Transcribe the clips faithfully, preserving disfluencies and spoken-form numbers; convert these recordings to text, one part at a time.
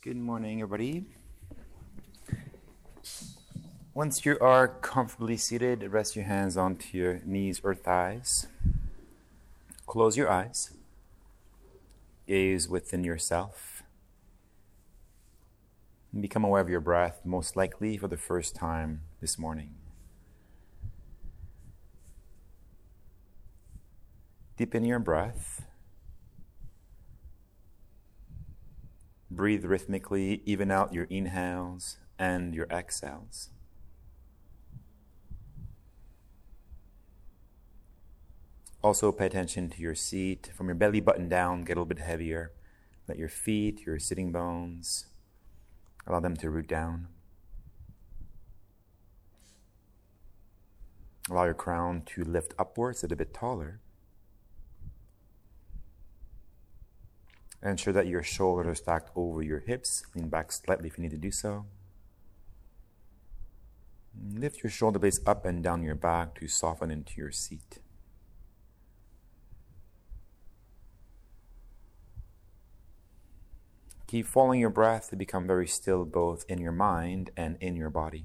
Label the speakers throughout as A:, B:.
A: Good morning, everybody. Once you are comfortably seated, rest your hands onto your knees or thighs. Close your eyes. Gaze within yourself. And become aware of your breath, most likely for the first time this morning. Deepen your breath. Breathe rhythmically, even out your inhales and your exhales. Also pay attention to your seat. From your belly button down, get a little bit heavier. Let your feet, your sitting bones, allow them to root down. Allow your crown to lift upwards a little bit taller. Ensure that your shoulders are stacked over your hips. Lean back slightly if you need to do so. Lift your shoulder blades up and down your back to soften into your seat. Keep following your breath to become very still both in your mind and in your body.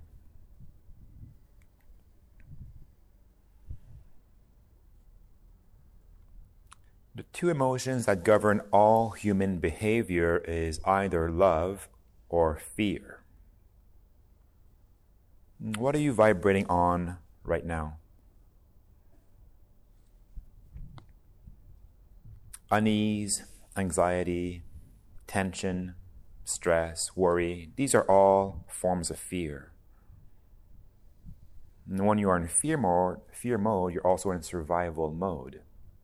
A: The two emotions that govern all human behavior is either love or fear. What are you vibrating on right now? Unease, anxiety, tension, stress, worry, these are all forms of fear. And when you are in fear mode, fear mode, you're also in survival mode.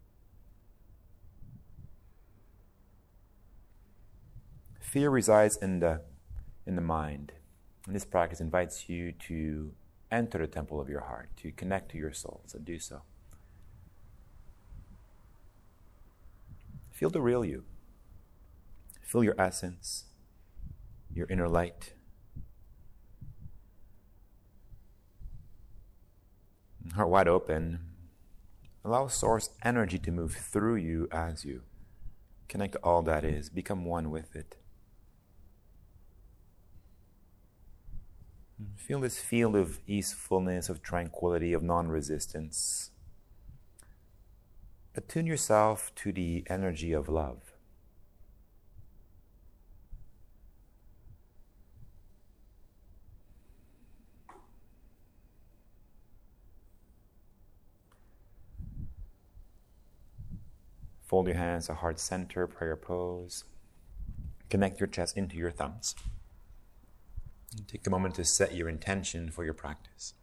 A: Fear resides in the in the mind. And this practice invites you to enter the temple of your heart, to connect to your soul, so do so. Feel the real you. Feel your essence, your inner light. Heart wide open. Allow source energy to move through you as you connect to all that is. Become one with it. Feel this field of easefulness, of tranquility, of non-resistance. Attune yourself to the energy of love. Fold your hands to heart center, prayer pose. Connect your chest into your thumbs. Take a moment to set your intention for your practice.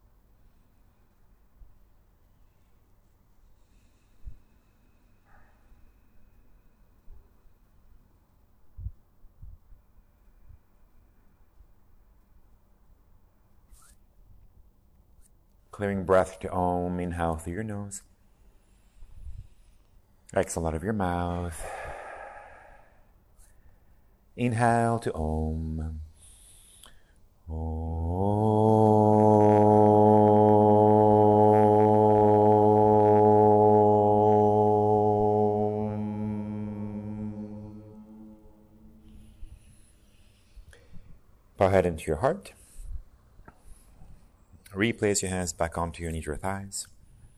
A: Clearing breath to Om, inhale through your nose. Exhale out of your mouth. Inhale to Om. Om. Bow head into your heart. Replace your hands back onto your knees or thighs.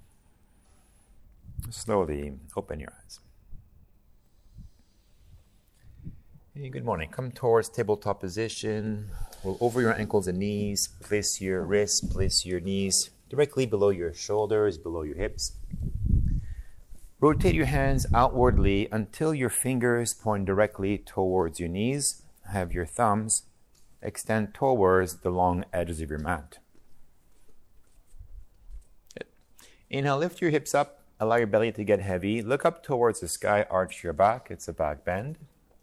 A: Slowly open your eyes. Hey, good morning. Come towards tabletop position. Roll over your ankles and knees. Place your wrists, place your knees directly below your shoulders, below your hips. Rotate your hands outwardly until your fingers point directly towards your knees. Have your thumbs extend towards the long edges of your mat. Good. Inhale, lift your hips up. Allow your belly to get heavy. Look up towards the sky, arch your back. It's a back bend.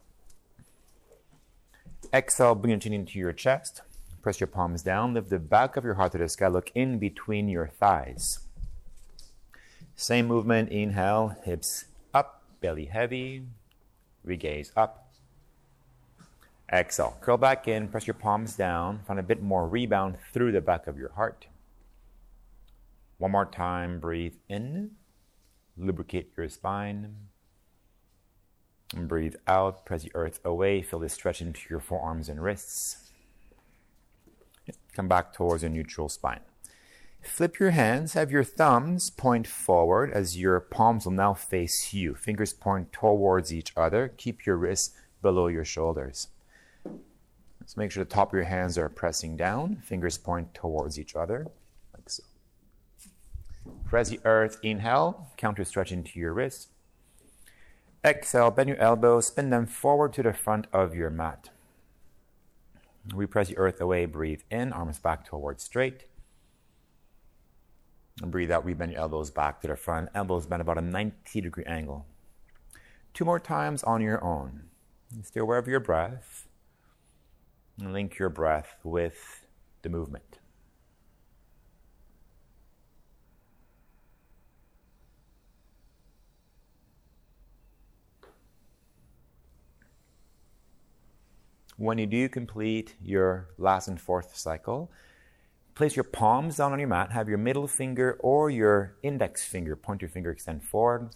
A: Exhale, bring your chin into your chest. Press your palms down. Lift the back of your heart to the sky. Look in between your thighs. Same movement. Inhale, hips up, belly heavy. Regaze up. Exhale, curl back in. Press your palms down. Find a bit more rebound through the back of your heart. One more time. Breathe in. Lubricate your spine. And breathe out, press the earth away, feel this stretch into your forearms and wrists. Come back towards a neutral spine. Flip your hands, have your thumbs point forward as your palms will now face you. Fingers point towards each other. Keep your wrists below your shoulders. So make sure the top of your hands are pressing down. Fingers point towards each other, like so. Press the earth, inhale, counter stretch into your wrists. Exhale, bend your elbows, spin them forward to the front of your mat. Repress the earth away, breathe in, arms back towards straight. And breathe out, rebend your elbows back to the front, elbows bend about a ninety degree angle. Two more times on your own. Stay aware of your breath. And link your breath with the movement. When you do complete your last and fourth cycle, place your palms down on your mat, have your middle finger or your index finger, point your finger, extend forward.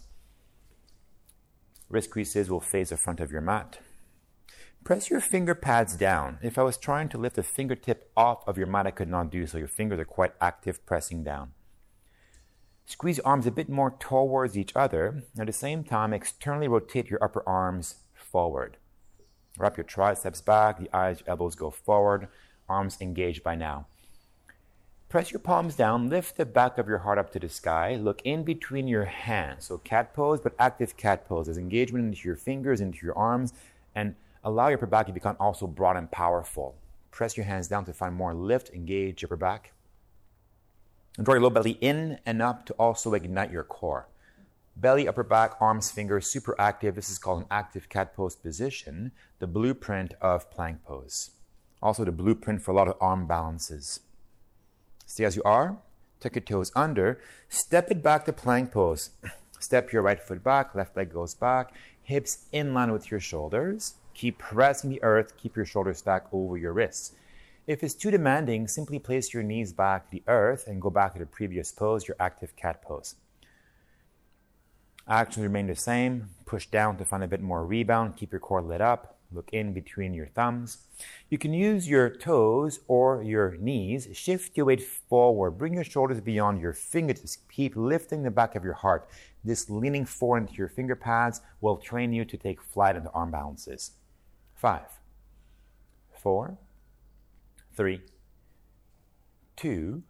A: Wrist creases will face the front of your mat. Press your finger pads down. If I was trying to lift the fingertip off of your mat, I could not do so. Your fingers are quite active, pressing down. Squeeze your arms a bit more towards each other. At the same time, externally rotate your upper arms forward. Wrap your triceps back, the eyes, your elbows go forward, arms engaged by now. Press your palms down, lift the back of your heart up to the sky, look in between your hands. So cat pose, but active cat pose. There's engagement into your fingers, into your arms, and allow your upper back to become also broad and powerful. Press your hands down to find more lift, engage your upper back. And draw your low belly in and up to also ignite your core. Belly, upper back, arms, fingers, super active. This is called an active cat pose position, the blueprint of plank pose. Also the blueprint for a lot of arm balances. Stay as you are, tuck your toes under, step it back to plank pose. Step your right foot back, left leg goes back, hips in line with your shoulders. Keep pressing the earth, keep your shoulders stacked over your wrists. If it's too demanding, simply place your knees back to the earth and go back to the previous pose, your active cat pose. Actions remain the same. Push down to find a bit more rebound. Keep your core lit up. Look in between your thumbs. You can use your toes or your knees. Shift your weight forward. Bring your shoulders beyond your fingertips. Keep lifting the back of your heart. This leaning forward into your finger pads will train you to take flight into arm balances. Five, four, three, two,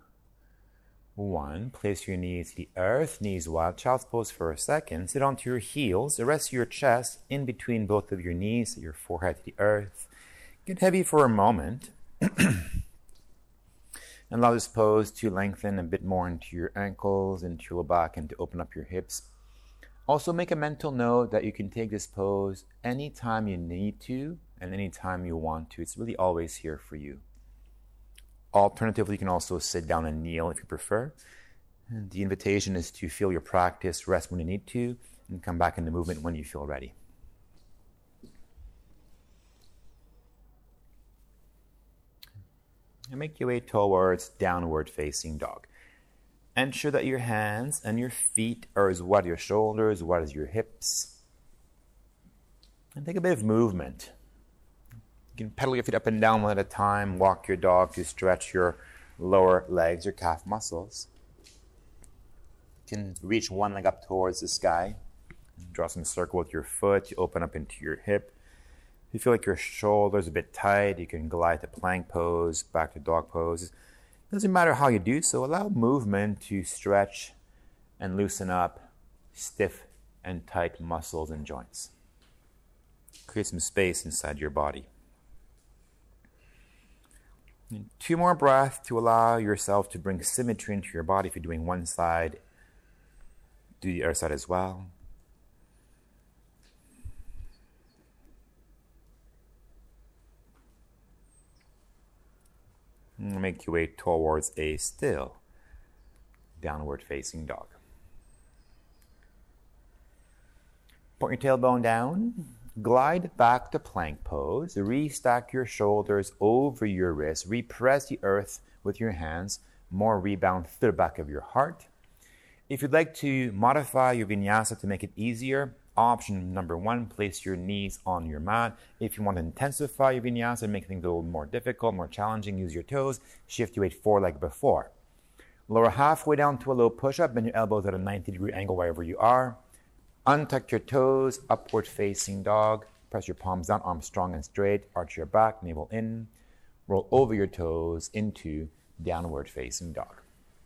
A: one. Place your knees to the earth, knees wide, child's pose for a second. Sit onto your heels, rest your chest in between both of your knees, your forehead to the earth. Get heavy for a moment. And allow this pose to lengthen a bit more into your ankles, into your low back, and to open up your hips. Also make a mental note that you can take this pose anytime you need to and anytime you want to. It's really always here for you. Alternatively, you can also sit down and kneel if you prefer. And the invitation is to feel your practice, rest when you need to, and come back into movement when you feel ready. And make your way towards downward facing dog. Ensure that your hands and your feet are as wide as your shoulders, as wide as your hips. And take a bit of movement. You can pedal your feet up and down one at a time, walk your dog to stretch your lower legs, your calf muscles. You can reach one leg up towards the sky. Draw some circle with your foot, you open up into your hip. If you feel like your shoulders are a bit tight, you can glide to plank pose, back to dog pose. It doesn't matter how you do so, allow movement to stretch and loosen up stiff and tight muscles and joints. Create some space inside your body. And two more breaths to allow yourself to bring symmetry into your body. If you're doing one side, do the other side as well. And make your way towards a still downward facing dog. Point your tailbone down. Glide back to plank pose. Restack your shoulders over your wrists. Repress the earth with your hands. More rebound through the back of your heart. If you'd like to modify your vinyasa to make it easier, option number one, place your knees on your mat. If you want to intensify your vinyasa and make things a little more difficult, more challenging, use your toes. Shift your weight forward like before. Lower halfway down to a low push-up. Bend your elbows at a ninety degree angle wherever you are. Untuck your toes, upward facing dog. Press your palms down, arms strong and straight. Arch your back, navel in. Roll over your toes into downward facing dog.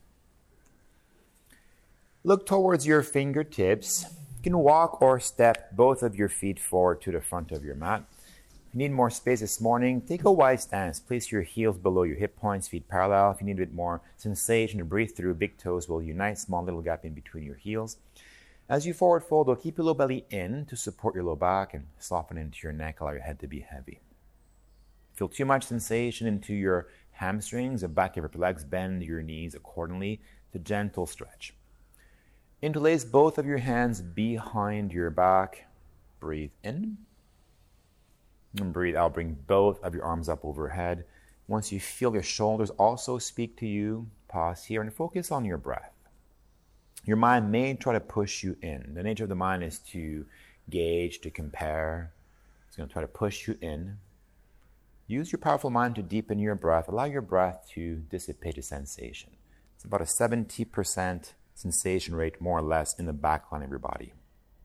A: Look towards your fingertips. You can walk or step both of your feet forward to the front of your mat. If you need more space this morning, take a wide stance. Place your heels below your hip points, feet parallel. If you need a bit more sensation to breathe through, big toes will unite, small little gap in between your heels. As you forward fold, though, keep your low belly in to support your low back and soften into your neck, allow your head to be heavy. Feel too much sensation into your hamstrings, the back of your legs, bend your knees accordingly. It's a gentle stretch. Interlace both of your hands behind your back. Breathe in. And breathe out. Bring both of your arms up overhead. Once you feel your shoulders also speak to you, pause here and focus on your breath. Your mind may try to push you in. The nature of the mind is to gauge, to compare. It's going to try to push you in. Use your powerful mind to deepen your breath. Allow your breath to dissipate the sensation. It's about a seventy percent sensation rate, more or less, in the back line of your body.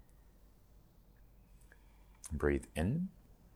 A: Breathe in.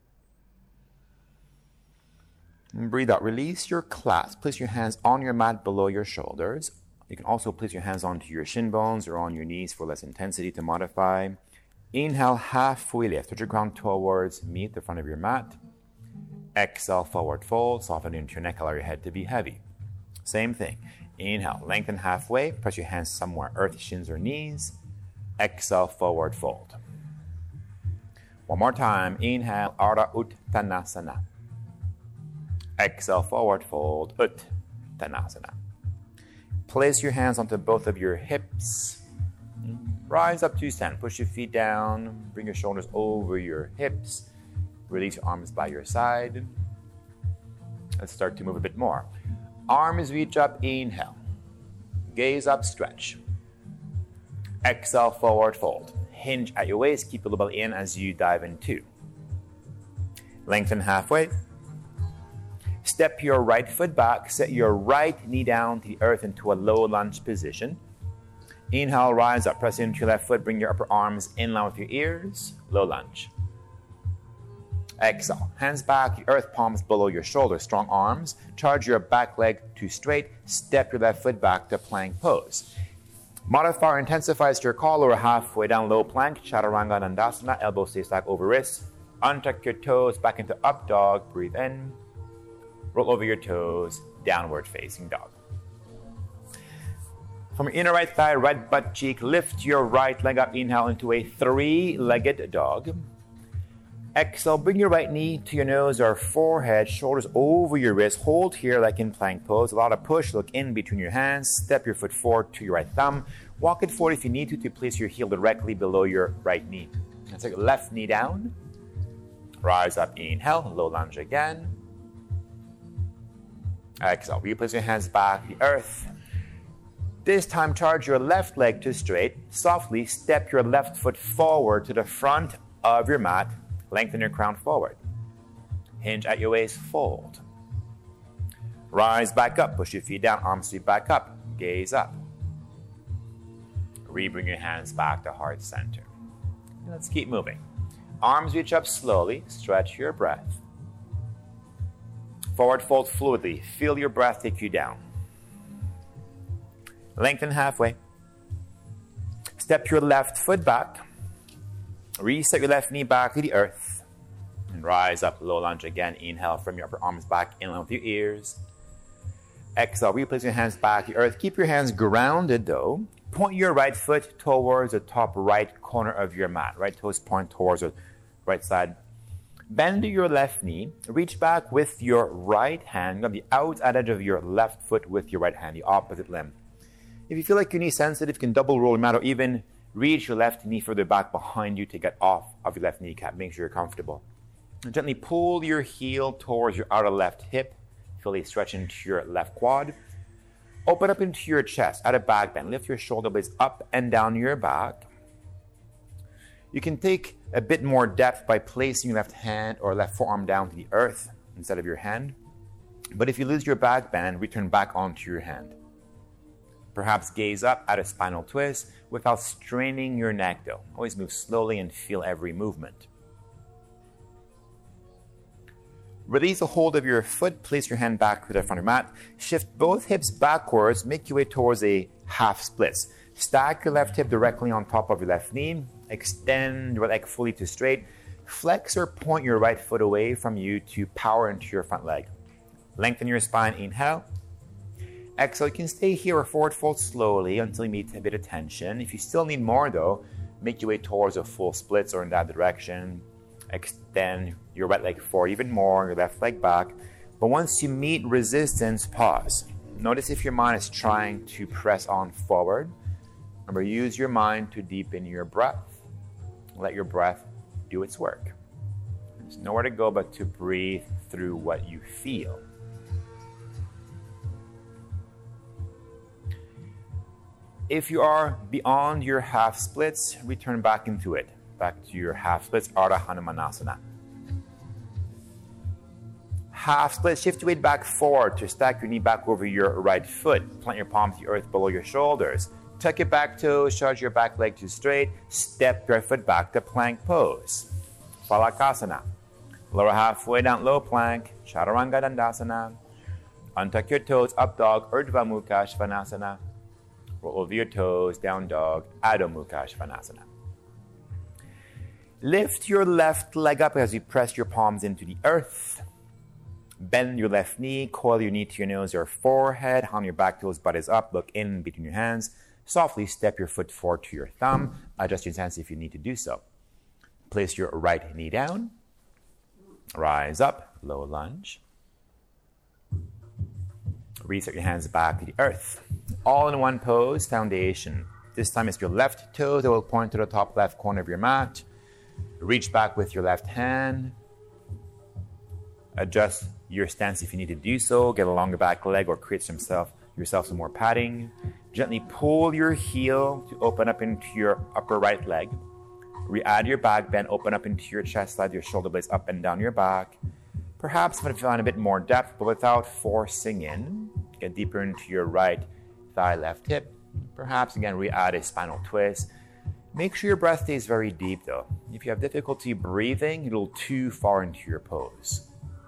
A: And breathe out. Release your clasp. Place your hands on your mat below your shoulders. You can also place your hands onto your shin bones or on your knees for less intensity to modify. Inhale, halfway lift. Touch your ground towards meet the front of your mat. Exhale, forward fold. Soften into your neck. Allow your head to be heavy. Same thing. Inhale, lengthen halfway. Press your hands somewhere, earth, shins, or knees. Exhale, forward fold. One more time. Inhale, Ardha Uttanasana. Exhale, forward fold, Uttanasana. Place your hands onto both of your hips. Rise up to stand. Push your feet down. Bring your shoulders over your hips. Release your arms by your side. Let's start to move a bit more. Arms reach up, inhale. Gaze up, stretch. Exhale, forward fold. Hinge at your waist, keep your low belly in as you dive in two. Lengthen halfway. Step your right foot back, set your right knee down to the earth into a low lunge position. Inhale, rise up, press into your left foot, bring your upper arms in line with your ears, low lunge. Exhale, hands back, the earth palms below your shoulders, strong arms. Charge your back leg to straight, step your left foot back to plank pose. Modify or intensify to your call, lower halfway down, low plank, Chaturanga Dandasana, elbows stay stacked over wrists. Untuck your toes back into up dog, breathe in. Roll over your toes, downward facing dog. From your inner right thigh, right butt cheek, lift your right leg up, inhale into a three-legged dog. Exhale, bring your right knee to your nose or forehead, shoulders over your wrist. Hold here like in plank pose. Allow to push, look in between your hands. Step your foot forward to your right thumb. Walk it forward if you need to to place your heel directly below your right knee. Now take your left knee down. Rise up, inhale, low lunge again. Exhale, replace your hands back to the earth. This time, charge your left leg to straight. Softly step your left foot forward to the front of your mat. Lengthen your crown forward. Hinge at your waist, fold. Rise back up, push your feet down, arms sweep back up, gaze up. Re-bring your hands back to heart center. Let's keep moving. Arms reach up slowly, stretch your breath. Forward fold fluidly, feel your breath take you down. Lengthen halfway. Step your left foot back. Reset your left knee back to the earth. And rise up, low lunge again. Inhale from your upper arms back in line with your ears. Exhale, replace your hands back to the earth. Keep your hands grounded though. Point your right foot towards the top right corner of your mat. Right toes point towards the right side. Bend your left knee. Reach back with your right hand. Grab the outside edge of your left foot with your right hand, the opposite limb. If you feel like your knee sensitive, you can double roll your mat or even reach your left knee further back behind you to get off of your left kneecap. Make sure you're comfortable. And gently pull your heel towards your outer left hip. Feel a stretch into your left quad. Open up into your chest at a back bend. Lift your shoulder blades up and down your back. You can take a bit more depth by placing your left hand or left forearm down to the earth instead of your hand. But if you lose your back bend, return back onto your hand. Perhaps gaze up at a spinal twist without straining your neck though. Always move slowly and feel every movement. Release the hold of your foot, place your hand back to the front of your mat. Shift both hips backwards, make your way towards a half splits. Stack your left hip directly on top of your left knee. Extend your leg fully to straight. Flex or point your right foot away from you to power into your front leg. Lengthen your spine, inhale. Exhale, you can stay here or forward fold slowly until you meet a bit of tension. If you still need more though, make your way towards a full splits or in that direction. Extend your right leg forward even more, your left leg back. But once you meet resistance, pause. Notice if your mind is trying to press on forward. Remember, use your mind to deepen your breath. Let your breath do its work. There's nowhere to go but to breathe through what you feel. If you are beyond your half splits, return back into it. Back to your half splits, Ardha Hanumanasana. Half split, shift your weight back forward to stack your knee back over your right foot. Plant your palm to the earth below your shoulders. Tuck your back toes, charge your back leg to straight. Step your foot back to plank pose. Phalakasana. Lower halfway down, low plank. Chaturanga Dandasana. Untuck your toes, up dog, Urdhva Mukha Svanasana. Roll over your toes, down dog, Adho Mukha Svanasana. Lift your left leg up as you press your palms into the earth. Bend your left knee, coil your knee to your nose or forehead, on your back toes, butt is up, look in between your hands. Softly step your foot forward to your thumb. Adjust your stance if you need to do so. Place your right knee down. Rise up, low lunge. Reset your hands back to the earth. All in one pose, foundation. This time it's your left toe that will point to the top left corner of your mat. Reach back with your left hand. Adjust your stance if you need to do so. Get a longer back leg or create some self, yourself some more padding. Gently pull your heel to open up into your upper right leg. Re-add your back bend, open up into your chest, slide your shoulder blades up and down your back. Perhaps find a bit more depth, but without forcing in. Get deeper into your right thigh, left hip. Perhaps again re-add a spinal twist. Make sure your breath stays very deep though. If you have difficulty breathing, you're a little too far into your pose.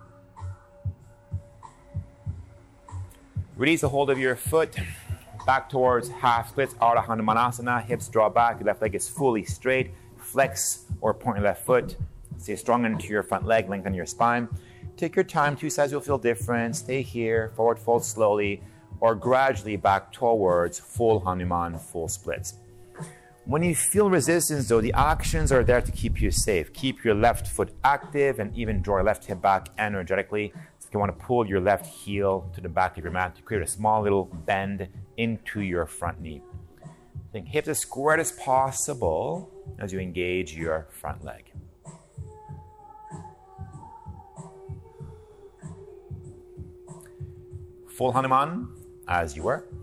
A: Release the hold of your foot. Back towards half splits, Ardha Hanumanasana. Hips draw back, your left leg is fully straight. Flex or point your left foot. Stay strong into your front leg, lengthen your spine. Take your time, two sides will feel different. Stay here, forward fold slowly, or gradually back towards full Hanuman, full splits. When you feel resistance though, the actions are there to keep you safe. Keep your left foot active and even draw your left hip back energetically. So you want to pull your left heel to the back of your mat to create a small little bend into your front knee. Think hips as squared as possible as you engage your front leg. Full Hanuman, as you were.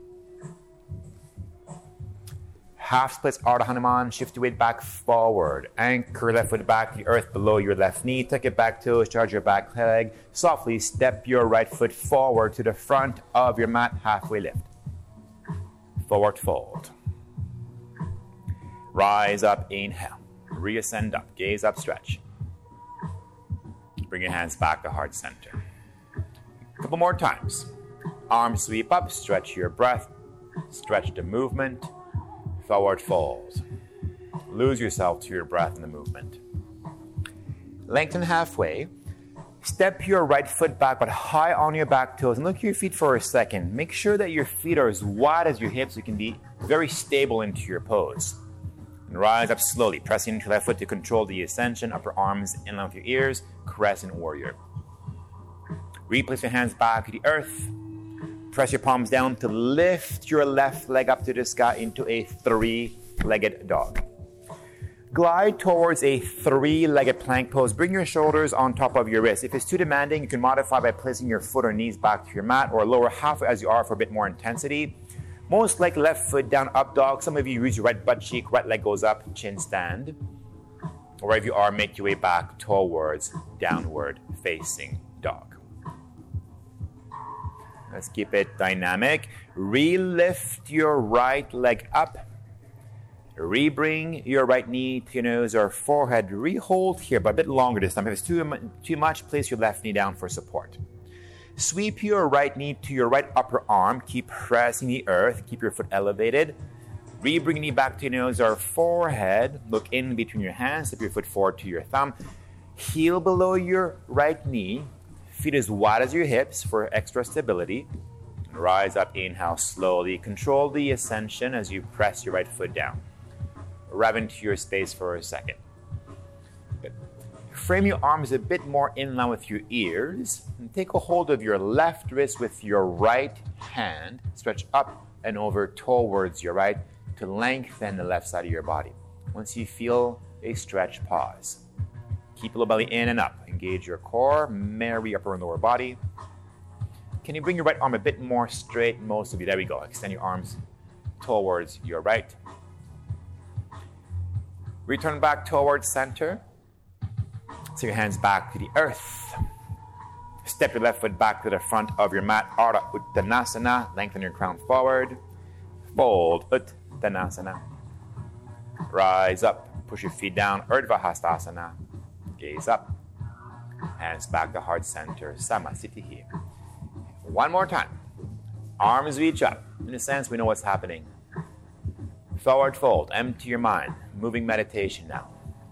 A: Half splits, Ardha Hanuman. Shift your weight back forward. Anchor left foot back to the earth below your left knee. Tuck your back toes, charge your back leg. Softly step your right foot forward to the front of your mat. Halfway lift. Forward fold. Rise up, inhale. Reascend up, gaze up, stretch. Bring your hands back to heart center. A couple more times. Arms sweep up, stretch your breath. Stretch the movement. Forward fold. Lose yourself to your breath in the movement. Lengthen halfway. Step your right foot back, but high on your back toes. And look at your feet for a second. Make sure that your feet are as wide as your hips so you can be very stable into your pose. And rise up slowly, pressing into your left foot to control the ascension. Upper arms in line with your ears. Crescent warrior. Replace your hands back to the earth. Press your palms down to lift your left leg up to the sky into a three-legged dog. Glide towards a three-legged plank pose. Bring your shoulders on top of your wrists. If it's too demanding, you can modify by placing your foot or knees back to your mat or lower halfway as you are for a bit more intensity. Most likely left foot down, up dog. Some of you use your right butt cheek, right leg goes up, chin stand. Or wherever you are, make your way back towards downward facing dog. Let's keep it dynamic. Re-lift your right leg up. Re-bring your right knee to your nose or forehead. Re-hold here, but a bit longer this time. If it's too, too much, place your left knee down for support. Sweep your right knee to your right upper arm. Keep pressing the earth. Keep your foot elevated. Re-bring your knee back to your nose or forehead. Look in between your hands. Step your foot forward to your thumb. Heel below your right knee. Feet as wide as your hips for extra stability. Rise up, inhale slowly. Control the ascension as you press your right foot down. Rev into your space for a second. Good. Frame your arms a bit more in line with your ears. And take a hold of your left wrist with your right hand. Stretch up and over towards your right to lengthen the left side of your body. Once you feel a stretch, pause. Keep the lower belly in and up. Engage your core, marry upper and lower body. Can you bring your right arm a bit more straight? Most of you. There we go. Extend your arms towards your right. Return back towards center. So your hands back to the earth. Step your left foot back to the front of your mat. Ardha Uttanasana. Lengthen your crown forward. Fold Uttanasana. Rise up. Push your feet down. Urdhva Hastasana. Gaze up. Hands back to heart center. Samasthiti here. One more time. Arms reach up. In a sense, we know what's happening. Forward fold. Empty your mind. Moving meditation now.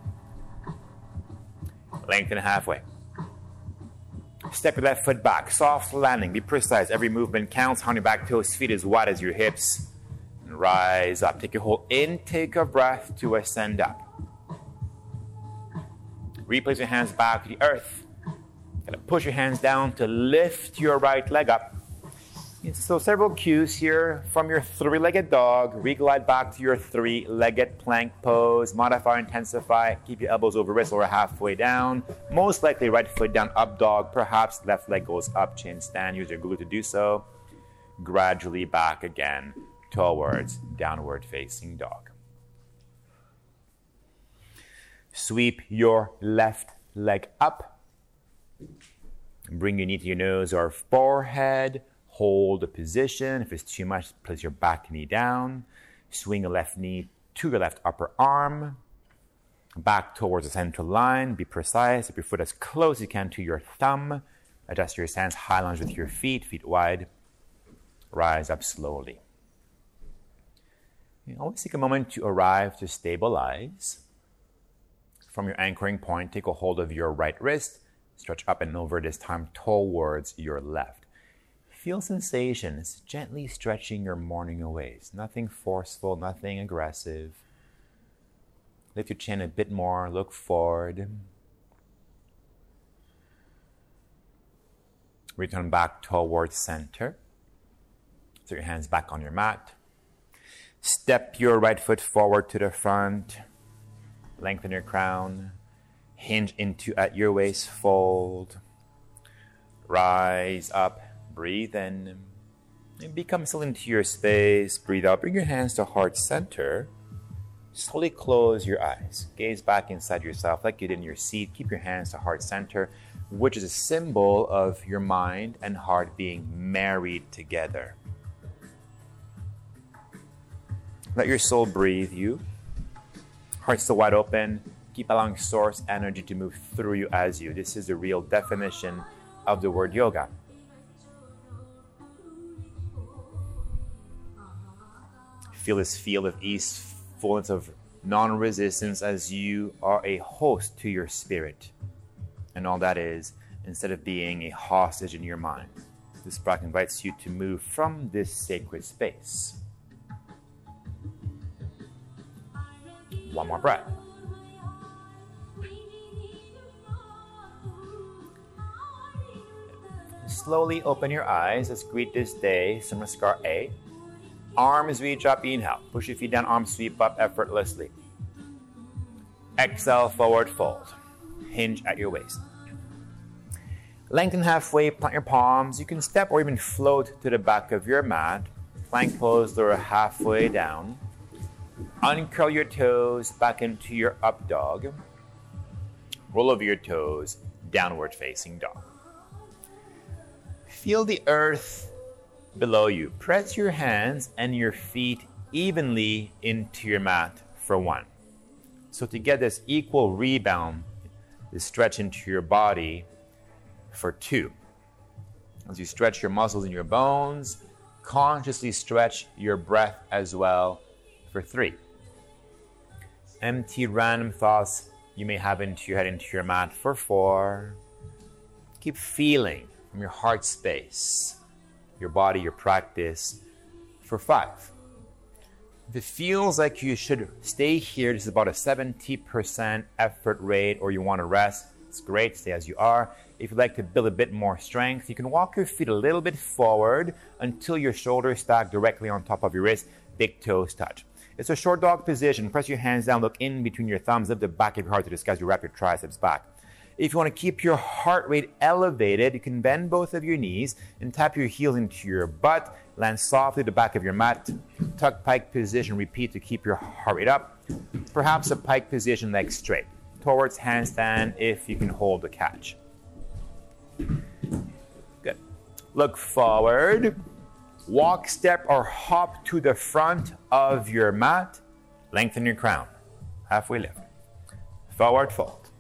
A: Lengthen halfway. Step your left foot back. Soft landing. Be precise. Every movement counts. On your back toes. Feet as wide as your hips. And rise up. Take a whole intake of breath to ascend up. Replace your hands back to the earth. Gonna push your hands down to lift your right leg up. So several cues here from your three-legged dog. Reglide back to your three-legged plank pose. Modify, intensify. Keep your elbows over wrists or halfway down. Most likely right foot down, up dog. Perhaps left leg goes up, chin stand. Use your glute to do so. Gradually back again towards downward facing dog. Sweep your left leg up. Bring your knee to your nose or forehead. Hold the position. If it's too much, place your back knee down. Swing your left knee to your left upper arm. Back towards the center line. Be precise. Keep your foot as close as you can to your thumb. Adjust your stance. High lunge with your feet. Feet wide. Rise up slowly. You always take a moment to arrive to stabilize. From your anchoring point, take a hold of your right wrist. Stretch up and over, this time towards your left. Feel sensations, gently stretching your morning aways. Nothing forceful, nothing aggressive. Lift your chin a bit more, look forward. Return back towards center. Set your hands back on your mat. Step your right foot forward to the front. Lengthen your crown. Hinge into at your waist, fold. Rise up. Breathe in. And become still into your space. Breathe out. Bring your hands to heart center. Slowly close your eyes. Gaze back inside yourself like you did in your seat. Keep your hands to heart center, which is a symbol of your mind and heart being married together. Let your soul breathe you. Heart still wide open. Keep allowing source energy to move through you as you. This is the real definition of the word yoga. Feel this field of ease, fullness of non-resistance as you are a host to your spirit. And all that is, instead of being a hostage in your mind. This practice invites you to move from this sacred space. One more breath. Slowly open your eyes. Let's greet this day. Samraskar A. Arms reach up, inhale. Push your feet down, arms sweep up effortlessly. Exhale, forward fold. Hinge at your waist. Lengthen halfway, plant your palms. You can step or even float to the back of your mat. Plank pose, lower halfway down. Uncurl your toes back into your up dog. Roll over your toes, downward facing dog. Feel the earth below you. Press your hands and your feet evenly into your mat for one. So to get this equal rebound, this stretch into your body for two. As you stretch your muscles in your bones, consciously stretch your breath as well for three. Empty random thoughts you may have into your head, into your mat for four. Keep feeling from your heart space, your body, your practice for five. If it feels like you should stay here, this is about a seventy percent effort rate, or you want to rest, it's great, stay as you are. If you'd like to build a bit more strength, you can walk your feet a little bit forward until your shoulders stack directly on top of your wrist, big toes touch. It's a short dog position. Press your hands down, look in between your thumbs, lift the back of your heart to the sky as you wrap your triceps back. If you want to keep your heart rate elevated, you can bend both of your knees and tap your heels into your butt. Land softly at the back of your mat. Tuck pike position. Repeat to keep your heart rate up. Perhaps a pike position, legs straight. Towards handstand if you can hold the catch. Good. Look forward. Walk, step, or hop to the front of your mat. Lengthen your crown. Halfway lift. Forward fold.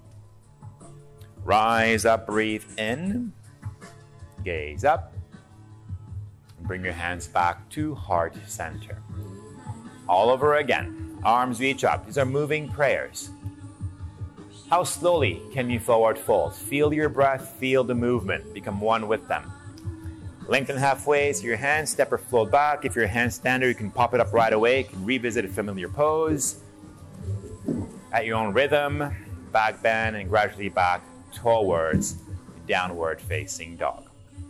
A: Rise up, breathe in. Gaze up. Bring your hands back to heart center. All over again. Arms reach up. These are moving prayers. How slowly can you forward fold? Feel your breath, feel the movement. Become one with them. Lengthen halfway, so your hands step or float back. If you're a handstander, you can pop it up right away. You can revisit a familiar pose. At your own rhythm, back bend and gradually back towards downward facing dog.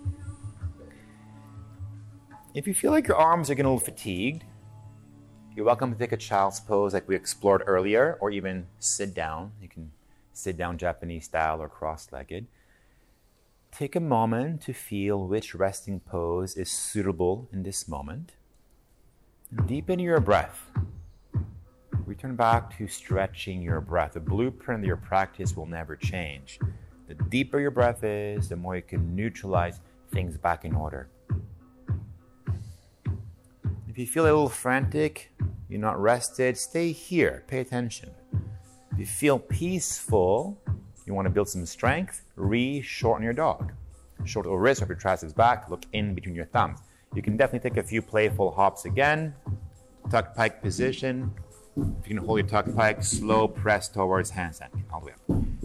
A: If you feel like your arms are getting a little fatigued, you're welcome to take a child's pose like we explored earlier, or even sit down. You can sit down Japanese style or cross-legged. Take a moment to feel which resting pose is suitable in this moment. Deepen your breath. Return back to stretching your breath. The blueprint of your practice will never change. The deeper your breath is, the more you can neutralize things back in order. If you feel a little frantic, you're not rested, stay here. Pay attention. If you feel peaceful, you want to build some strength, re-shorten your dog. Shoulder or wrist, wrap your triceps back, look in between your thumbs. You can definitely take a few playful hops again. Tuck pike position. If you can hold your tuck pike, slow press towards handstand. All the way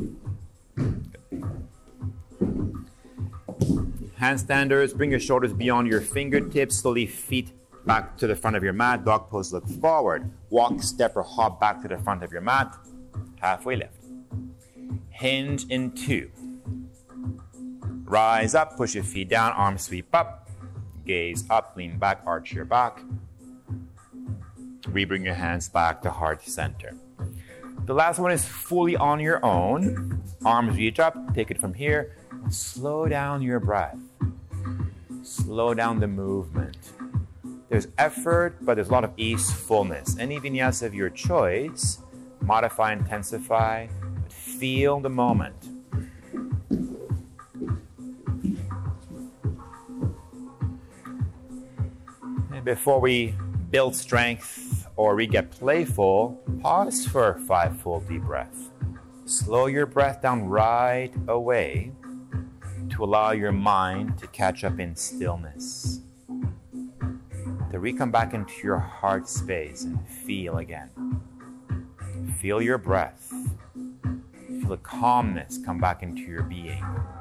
A: up. Good. Handstanders, bring your shoulders beyond your fingertips. Slowly feet back to the front of your mat. Dog pose, look forward. Walk, step, or hop back to the front of your mat. Halfway lift. Hinge in two. Rise up, push your feet down, arms sweep up. Gaze up, lean back, arch your back. Rebring your hands back to heart center. The last one is fully on your own. Arms reach up, take it from here. Slow down your breath. Slow down the movement. There's effort, but there's a lot of ease, fullness. Any vinyasa of your choice, modify, intensify, but feel the moment. And before we build strength or we get playful, pause for five full deep breaths. Slow your breath down right away to allow your mind to catch up in stillness. To re-come back into your heart space and feel again. Feel your breath. Feel the calmness come back into your being.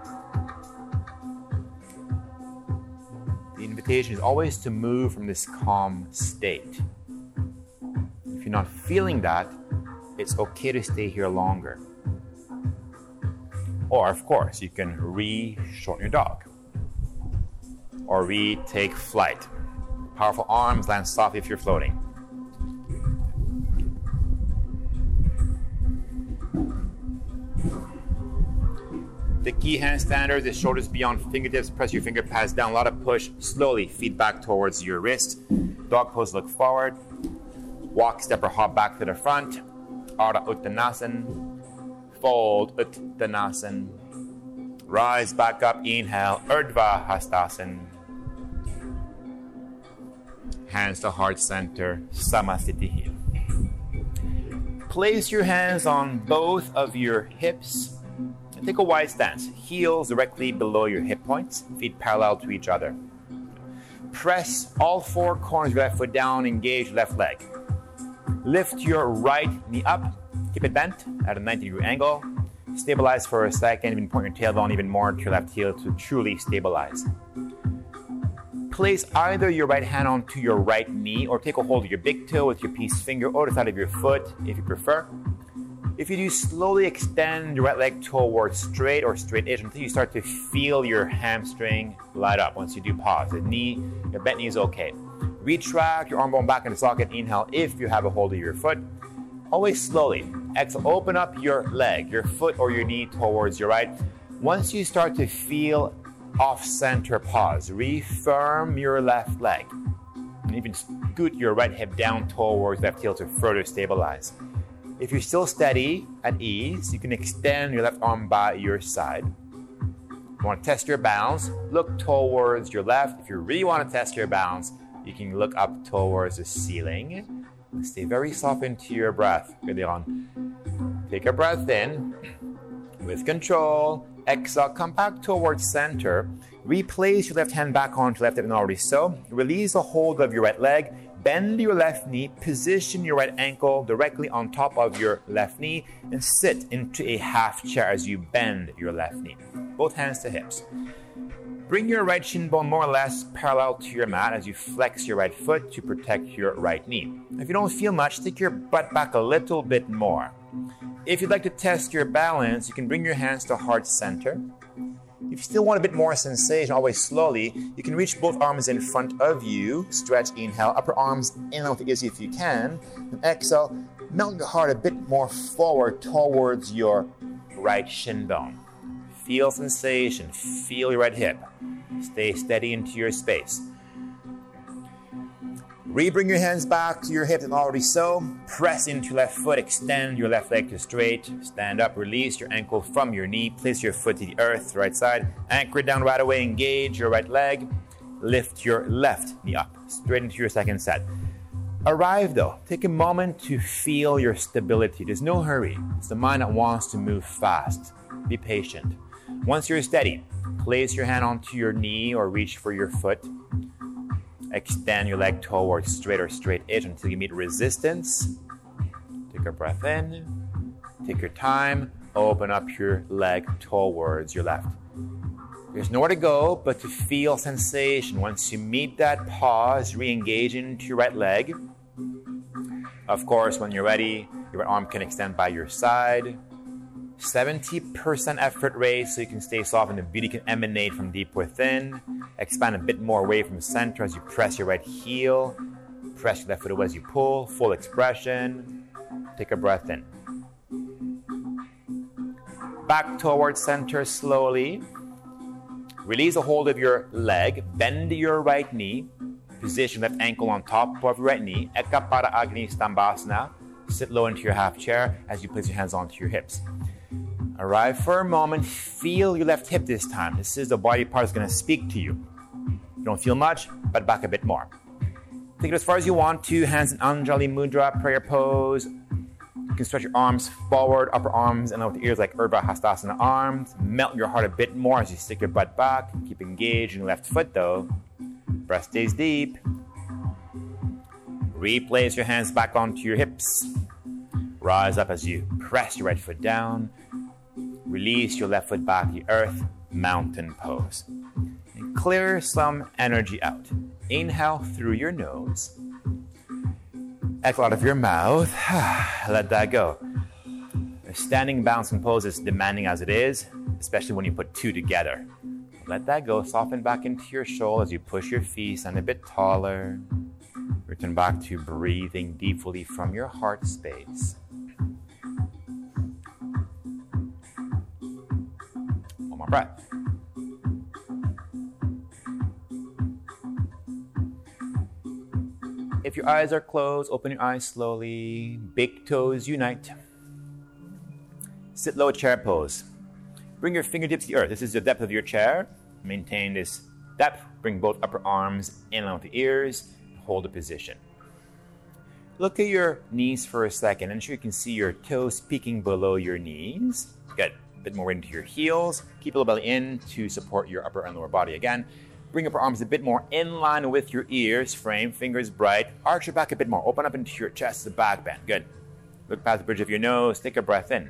A: The invitation is always to move from this calm state. If you're not feeling that, it's okay to stay here longer. Or, of course, you can re-shorten your dog. Or re-take flight. Powerful arms, land softly if you're floating. The key handstander, the shoulders beyond fingertips, press your finger pads down, a lot of push, slowly feet back towards your wrist. Dog pose, look forward. Walk, step, or hop back to the front. Ardha Uttanasana. Fold Uttanasana. Rise back up, inhale, Urdhva Hastasana. Hands to heart center, Samasthiti. Place your hands on both of your hips. And take a wide stance. Heels directly below your hip points, feet parallel to each other. Press all four corners of your left foot down, engage left leg. Lift your right knee up, keep it bent at a ninety degree angle. Stabilize for a second, even point your tailbone even more to your left heel to truly stabilize. Place either your right hand onto your right knee or take a hold of your big toe with your peace finger or the side of your foot if you prefer. If you do, slowly extend your right leg towards straight or straight-ish until you start to feel your hamstring light up. Once you do, pause. The knee, your bent knee is okay. Retract your arm bone back into socket. Inhale if you have a hold of your foot. Always slowly. Exhale, open up your leg, your foot or your knee towards your right. Once you start to feel off-center, pause. Refirm your left leg. And even scoot your right hip down towards left heel to further stabilize. If you're still steady, at ease, you can extend your left arm by your side. If you want to test your balance, look towards your left. If you really want to test your balance, you can look up towards the ceiling. Stay very soft into your breath. Good on. Take a breath in. With control, exhale, come back towards center. Replace your left hand back onto left hip and already so. Release a hold of your right leg. Bend your left knee, position your right ankle directly on top of your left knee, and sit into a half chair as you bend your left knee. Both hands to hips. Bring your right shin bone more or less parallel to your mat as you flex your right foot to protect your right knee. If you don't feel much, take your butt back a little bit more. If you'd like to test your balance, you can bring your hands to heart center. If you still want a bit more sensation, always slowly, you can reach both arms in front of you. Stretch, inhale, upper arms in with the easy if you can. And exhale, melt your heart a bit more forward towards your right shin bone. Feel sensation, feel your right hip. Stay steady into your space. Re-bring your hands back to your hips and already so. Press into your left foot, extend your left leg to straight. Stand up, release your ankle from your knee. Place your foot to the earth, right side. Anchor it down right away, engage your right leg. Lift your left knee up, straight into your second set. Arrive though, take a moment to feel your stability. There's no hurry. It's the mind that wants to move fast. Be patient. Once you're steady, place your hand onto your knee or reach for your foot. Extend your leg towards straight or straight edge until you meet resistance. Take a breath in. Take your time. Open up your leg towards your left. There's nowhere to go but to feel sensation. Once you meet that pause, re-engage into your right leg. Of course, when you're ready, your right arm can extend by your side. seventy percent effort rate so you can stay soft and the beauty can emanate from deep within. Expand a bit more away from center as you press your right heel. Press your left foot away as you pull. Full expression. Take a breath in. Back towards center slowly. Release a hold of your leg. Bend your right knee. Position left ankle on top of your right knee. Eka Pada Agni Stambhasana. Sit low into your half chair as you place your hands onto your hips. Arrive for a moment. Feel your left hip this time. This is the body part that's going to speak to you. You don't feel much, but back a bit more. Take it as far as you want to. Hands in Anjali Mudra, prayer pose. You can stretch your arms forward, upper arms, and out the ears like Urdhva Hastasana arms. Melt your heart a bit more as you stick your butt back. Keep engaged in your left foot though. Breath stays deep. Replace your hands back onto your hips. Rise up as you press your right foot down. Release your left foot back to the earth, mountain pose. And clear some energy out. Inhale through your nose. Exhale out of your mouth. Let that go. A standing balancing pose is demanding as it is, especially when you put two together. Let that go. Soften back into your shoulder as you push your feet, stand a bit taller. Return back to breathing deeply from your heart space. more breath. If your eyes are closed, open your eyes slowly. Big toes unite. Sit low chair pose. Bring your fingertips to the earth. This is the depth of your chair. Maintain this depth. Bring both upper arms in line with the ears. Hold the position. Look at your knees for a second. Ensure you can see your toes peeking below your knees. Get a bit more into your heels. Keep a little belly in to support your upper and lower body again. Bring up your arms a bit more in line with your ears. Frame, fingers bright. Arch your back a bit more. Open up into your chest, the back bend. Good. Look past the bridge of your nose. Take a breath in.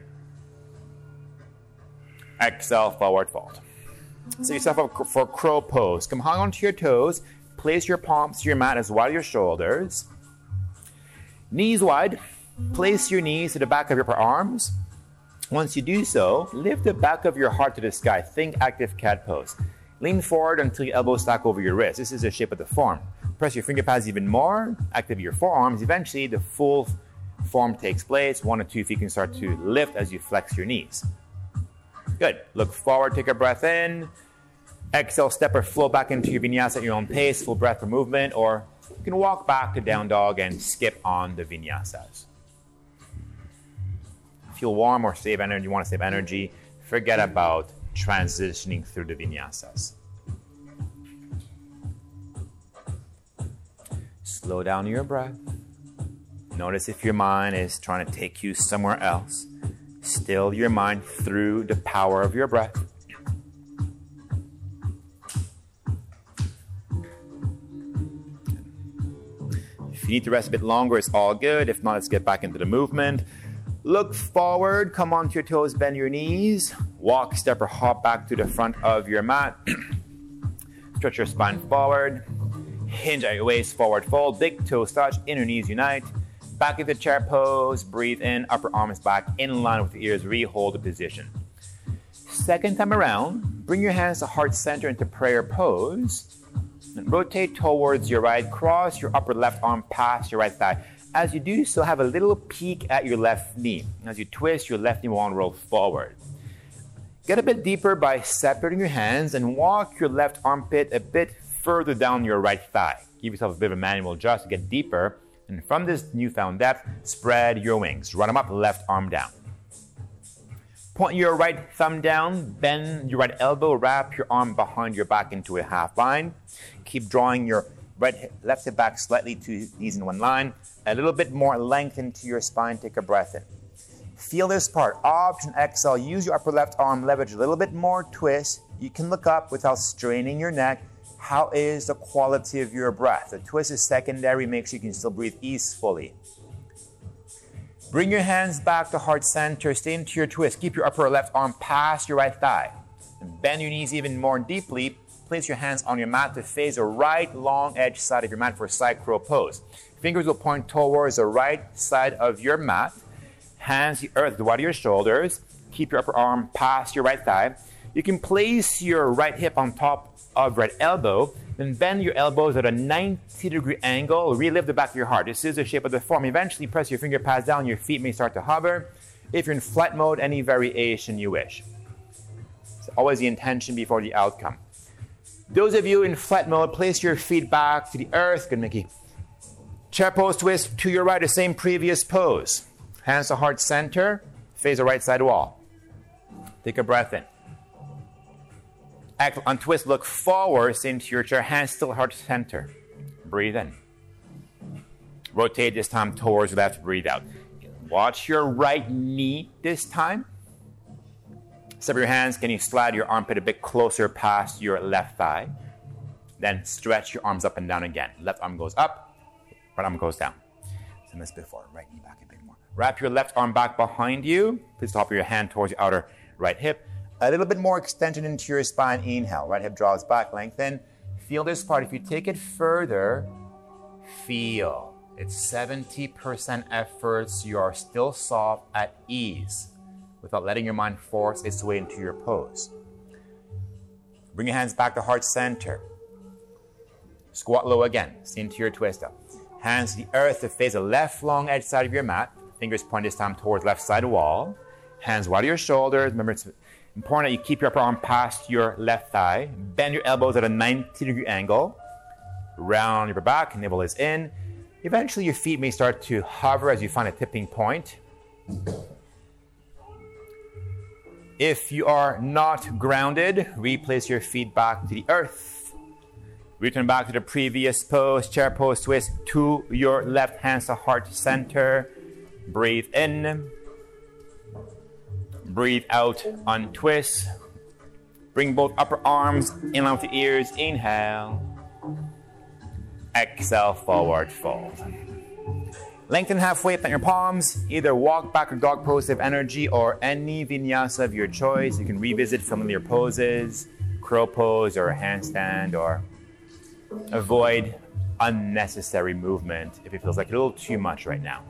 A: Exhale, forward fold. Set yourself up for crow pose. Come hang onto your toes. Place your palms to your mat as wide as your shoulders. Knees wide. Place your knees to the back of your upper arms. Once you do so, lift the back of your heart to the sky. Think active cat pose. Lean forward until your elbows stack over your wrist. This is the shape of the form. Press your finger pads even more. Activate your forearms. Eventually, the full form takes place. One or two feet can start to lift as you flex your knees. Good. Look forward. Take a breath in. Exhale, step or flow back into your vinyasa at your own pace. Full breath per movement. Or you can walk back to down dog and skip on the vinyasas. Feel warm or save energy. You want to save energy. Forget about transitioning through the vinyasas. Slow down your breath. Notice if your mind is trying to take you somewhere else. Still your mind through the power of your breath. If you need to rest a bit longer, it's all good. If not, let's get back into the movement. Look forward, come onto your toes, bend your knees. Walk, step, or hop back to the front of your mat. Stretch your spine forward. Hinge at your waist, forward fold. Big toes touch, inner knees unite. Back of the chair pose, breathe in, upper arms back in line with the ears, re-hold the position. Second time around, bring your hands to heart center into prayer pose. And rotate towards your right, cross your upper left arm past your right thigh. As you do so, have a little peek at your left knee. As you twist, your left knee will roll forward. Get a bit deeper by separating your hands and walk your left armpit a bit further down your right thigh. Give yourself a bit of a manual adjust to get deeper. And from this newfound depth, spread your wings. Run them up, left arm down. Point your right thumb down, bend your right elbow, wrap your arm behind your back into a half line. Keep drawing your right hip, left hip back slightly to knees in one line. A little bit more length into your spine. Take a breath in. Feel this part. Option exhale. Use your upper left arm. Leverage a little bit more. Twist. You can look up without straining your neck. How is the quality of your breath? The twist is secondary. Make sure you can still breathe easefully. Bring your hands back to heart center. Stay into your twist. Keep your upper left arm past your right thigh. And bend your knees even more deeply. Place your hands on your mat to face the right long edge side of your mat for side crow pose. Fingers will point towards the right side of your mat. Hands the earth wide of your shoulders. Keep your upper arm past your right thigh. You can place your right hip on top of right elbow. Then bend your elbows at a ninety degree angle. Relift the back of your heart. This is the shape of the form. Eventually press your finger pads down. Your feet may start to hover. If you're in flight mode, any variation you wish. It's always the intention before the outcome. Those of you in flight mode, place your feet back to the earth. Good, Mickey. Chair pose twist to your right, the same previous pose. Hands to heart center, face the right side wall. Take a breath in. Act on twist, look forward into your chair, hands still heart center. Breathe in. Rotate this time towards the left, breathe out. Watch your right knee this time. Separate your hands, can you slide your armpit a bit closer past your left thigh? Then stretch your arms up and down again. Left arm goes up, right arm goes down. Same as before, right knee back a bit more. Wrap your left arm back behind you. Place the top of your hand towards your outer right hip. A little bit more extension into your spine. Inhale, right hip draws back, lengthen. Feel this part. If you take it further, feel. It's seventy percent efforts. You are still soft at ease without letting your mind force its way into your pose. Bring your hands back to heart center. Squat low again. Stay into your twist up. Hands to the earth to face the left long edge side of your mat. Fingers point this time towards left side wall. Hands wide of your shoulders. Remember, it's Important that you keep your upper arm past your left thigh. Bend your elbows at a ninety degree angle. Round your back, navel is in. Eventually your feet may start to hover as you find a tipping point. If you are not grounded, replace your feet back to the earth. Return back to the previous pose, chair pose twist to your left hand to heart center. Breathe in. Breathe out, untwist. Bring both upper arms in line with the ears. Inhale. Exhale, forward fold. Lengthen halfway, plant your palms. Either walk back or dog pose of energy or any vinyasa of your choice. You can revisit familiar poses, crow pose or a handstand, or avoid unnecessary movement if it feels like a little too much right now.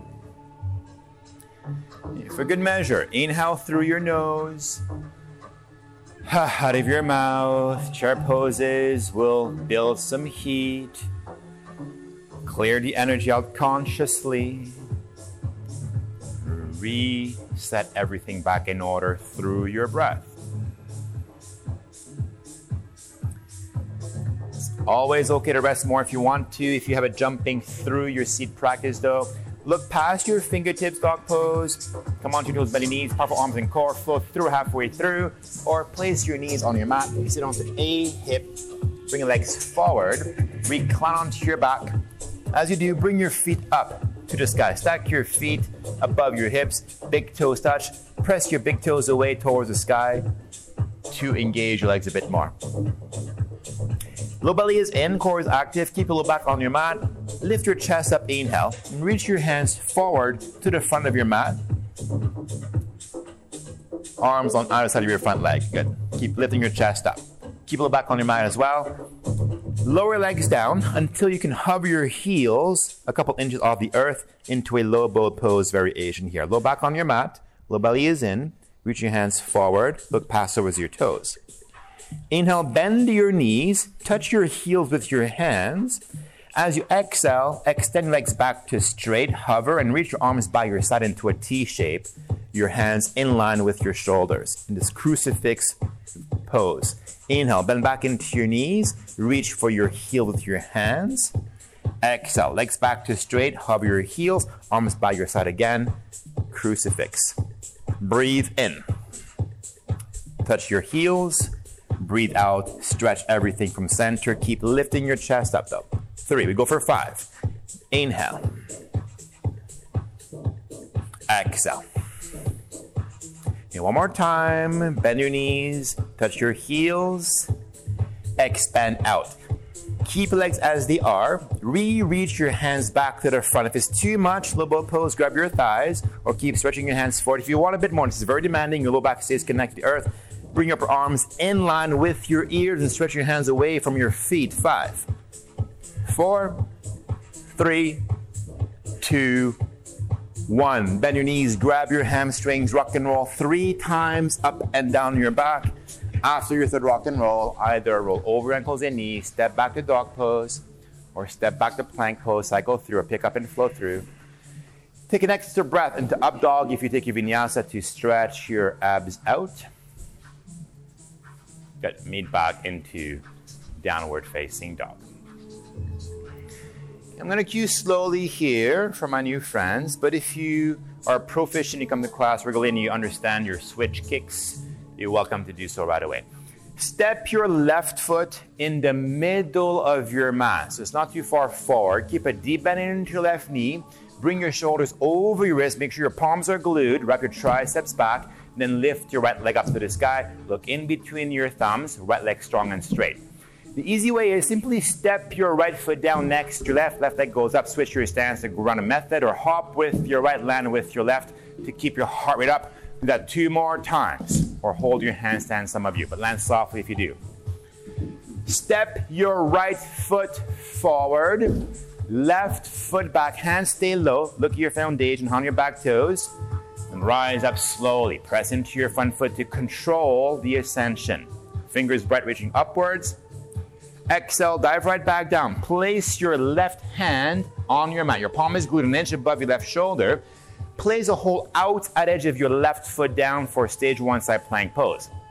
A: For good measure, inhale through your nose, out of your mouth. Chair poses will build some heat. Clear the energy out consciously. Reset everything back in order through your breath. It's always okay to rest more if you want to. If you have a jumping through your seat practice though, look past your fingertips, dog pose. Come onto your toes, belly, knees, powerful arms and core. Flow through halfway through. Or place your knees on your mat. You sit onto a hip. Bring your legs forward. Recline onto your back. As you do, bring your feet up to the sky. Stack your feet above your hips. Big toes touch. Press your big toes away towards the sky to engage your legs a bit more. Low belly is in, core is active. Keep a little back on your mat. Lift your chest up, inhale. And reach your hands forward to the front of your mat. Arms on either side of your front leg. Good. Keep lifting your chest up. Keep a little back on your mat as well. Lower legs down until you can hover your heels a couple inches off the earth into a low bow pose variation here. Low back on your mat. Low belly is in. Reach your hands forward. Look past over your toes. Inhale, bend your knees. Touch your heels with your hands. As you exhale, extend your legs back to straight. Hover and reach your arms by your side into a T shape. Your hands in line with your shoulders in this crucifix pose. Inhale, bend back into your knees. Reach for your heel with your hands. Exhale, legs back to straight. Hover your heels, arms by your side again. Crucifix. Breathe in. Touch your heels. Breathe out. Stretch everything from center. Keep lifting your chest up though. Three. We go for five. Inhale. Exhale. Okay, one more time. Bend your knees. Touch your heels. Expand out. Keep legs as they are. Re-reach your hands back to the front. If it's too much, low bow pose, grab your thighs or keep stretching your hands forward. If you want a bit more, this is very demanding. Your low back stays connected to the earth. Bring up your arms in line with your ears and stretch your hands away from your feet. Five, four, three, two, one. Bend your knees, grab your hamstrings, rock and roll three times up and down your back. After your third rock and roll, either roll over ankles and knees, step back to dog pose, or step back to plank pose, cycle through, or pick up and flow through. Take an extra breath into up dog if you take your vinyasa to stretch your abs out. Good. Meet back into downward facing dog. I'm going to cue slowly here for my new friends, but if you are proficient, you come to class regularly and you understand your switch kicks, you're welcome to do so right away. Step your left foot in the middle of your mat. So it's not too far forward. Keep a deep bend into your left knee. Bring your shoulders over your wrist. Make sure your palms are glued. Wrap your triceps back. Then lift your right leg up to the sky. Look in between your thumbs. Right leg strong and straight. The easy way is simply step your right foot down next to your left. Left leg goes up. Switch your stance to Gurana method, or hop with your right, land with your left to keep your heart rate up. Do that two more times, or hold your handstand, some of you, but land softly if you do. Step your right foot forward, left foot back, hands stay low, look at your foundation on your back toes, and rise up slowly. Press into your front foot to control the ascension. Fingers bright reaching upwards. Exhale, dive right back down. Place your left hand on your mat. Your palm is glued an inch above your left shoulder. Place a hold out at edge of your left foot down for stage one side plank pose.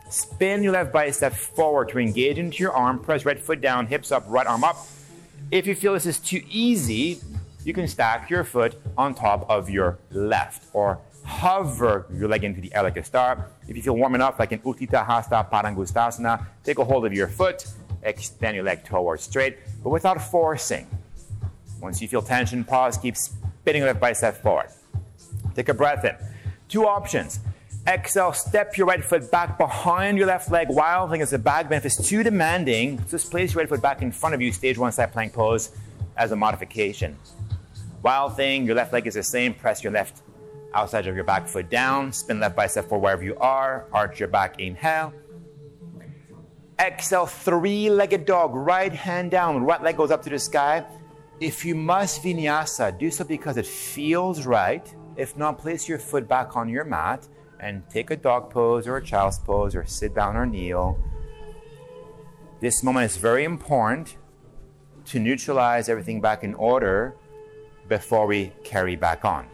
A: Spin your left bicep forward to engage into your arm. Press right foot down, hips up, right arm up. If you feel this is too easy, you can stack your foot on top of your left or hover your leg into the air like a star. If you feel warm enough, like in Utthita Hasta Padangusthasana, take a hold of your foot, extend your leg towards straight, but without forcing. Once you feel tension, pause, keep spinning your left bicep forward. Take a breath in. Two options. Exhale, step your right foot back behind your left leg. Wild thing is the back bend. If it's too demanding, just place your right foot back in front of you, stage one side plank pose as a modification. Wild thing, your left leg is the same. Press your left outside of your back foot down. Spin left bicep forward wherever you are. Arch your back, inhale. Exhale, three-legged dog. Right hand down, right leg goes up to the sky. If you must vinyasa, do so because it feels right. If not, place your foot back on your mat and take a dog pose or a child's pose or sit down or kneel. This moment is very important to neutralize everything back in order before we carry back on.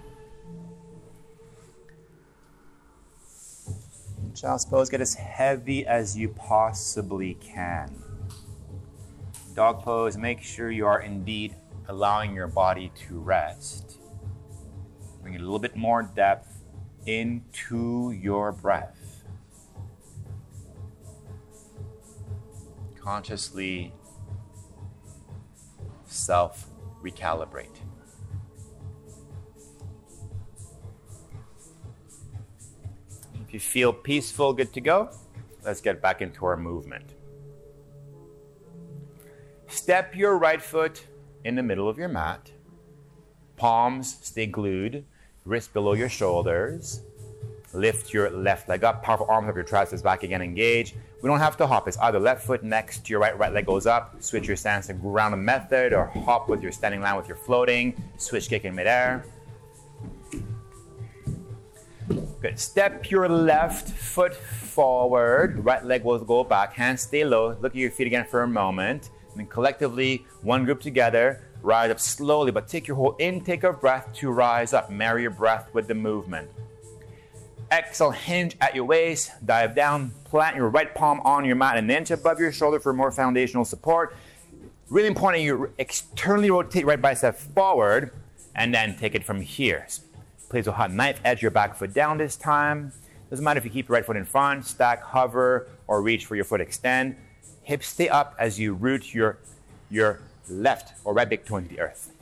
A: Child's pose, get as heavy as you possibly can. Dog pose, make sure you are indeed allowing your body to rest. Bring a little bit more depth into your breath. Consciously self-recalibrate. If you feel peaceful, good to go, let's get back into our movement. Step your right foot in the middle of your mat. Palms stay glued. Wrist below your shoulders. Lift your left leg up. Powerful arms up, your triceps back again, engage. We don't have to hop. It's either left foot next to your right, right leg goes up. Switch your stance to ground method or hop with your standing line with your floating. Switch kick in midair. Good. Step your left foot forward. Right leg will go back. Hands stay low. Look at your feet again for a moment. And then collectively, one group together. Rise up slowly, but take your whole intake of breath to rise up. Marry your breath with the movement. Exhale, hinge at your waist, dive down, plant your right palm on your mat an inch above your shoulder for more foundational support. Really important, you externally rotate right bicep forward, and then take it from here. Place a hot knife edge your back foot down this time. Doesn't matter if you keep your right foot in front, stack, hover, or reach for your foot extend. Hips stay up as you root your, your left or right big toe into the earth.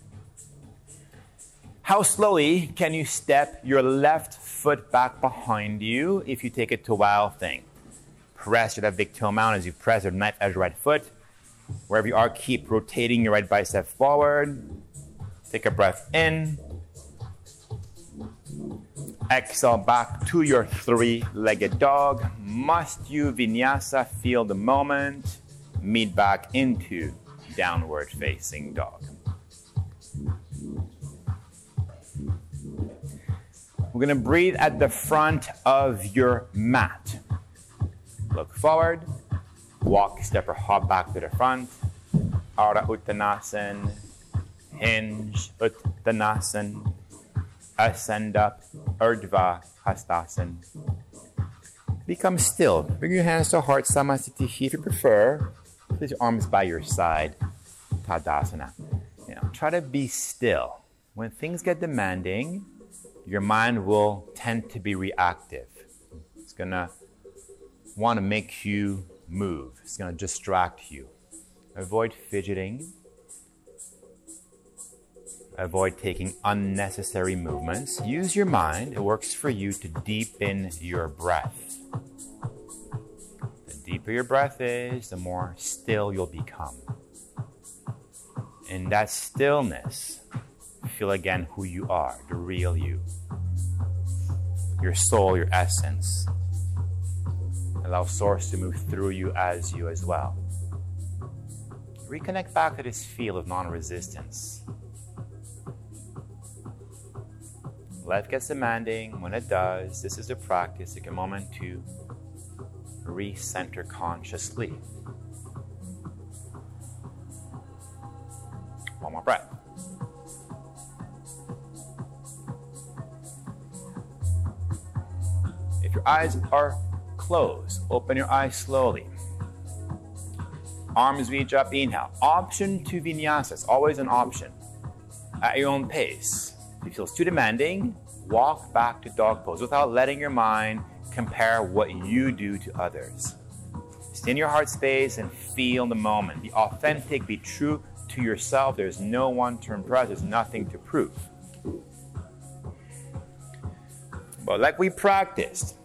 A: How slowly can you step your left foot back behind you if you take it to wild thing? Press your left big toe mound as you press your knife edge right foot. Wherever you are, keep rotating your right bicep forward. Take a breath in. Exhale back to your three-legged dog. Must you vinyasa, feel the moment. Meet back into downward facing dog. We're going to breathe at the front of your mat. Look forward. Walk, step, or hop back to the front. Ardha Uttanasana. Hinge Uttanasana. Ascend up. Urdhva Hastasana. Become still. Bring your hands to heart, Samasthiti if you prefer. Place your arms by your side. Tadasana. You know, try to be still. When things get demanding, your mind will tend to be reactive. It's going to want to make you move. It's going to distract you. Avoid fidgeting. Avoid taking unnecessary movements. Use your mind. It works for you to deepen your breath. The deeper your breath is, the more still you'll become. In that stillness, feel again who you are, the real you. Your soul, your essence. Allow Source to move through you as you as well. Reconnect back to this feel of non-resistance. Life gets demanding. When it does, this is a practice. Take a moment to recenter consciously. One more breath. If your eyes are close. Open your eyes slowly. Arms reach up, inhale. Option to vinyasa, it's always an option. At your own pace. If it feels too demanding, walk back to dog pose without letting your mind compare what you do to others. Stay in your heart space and feel the moment. Be authentic, be true to yourself. There's no one to impress, there's nothing to prove. But like we practiced,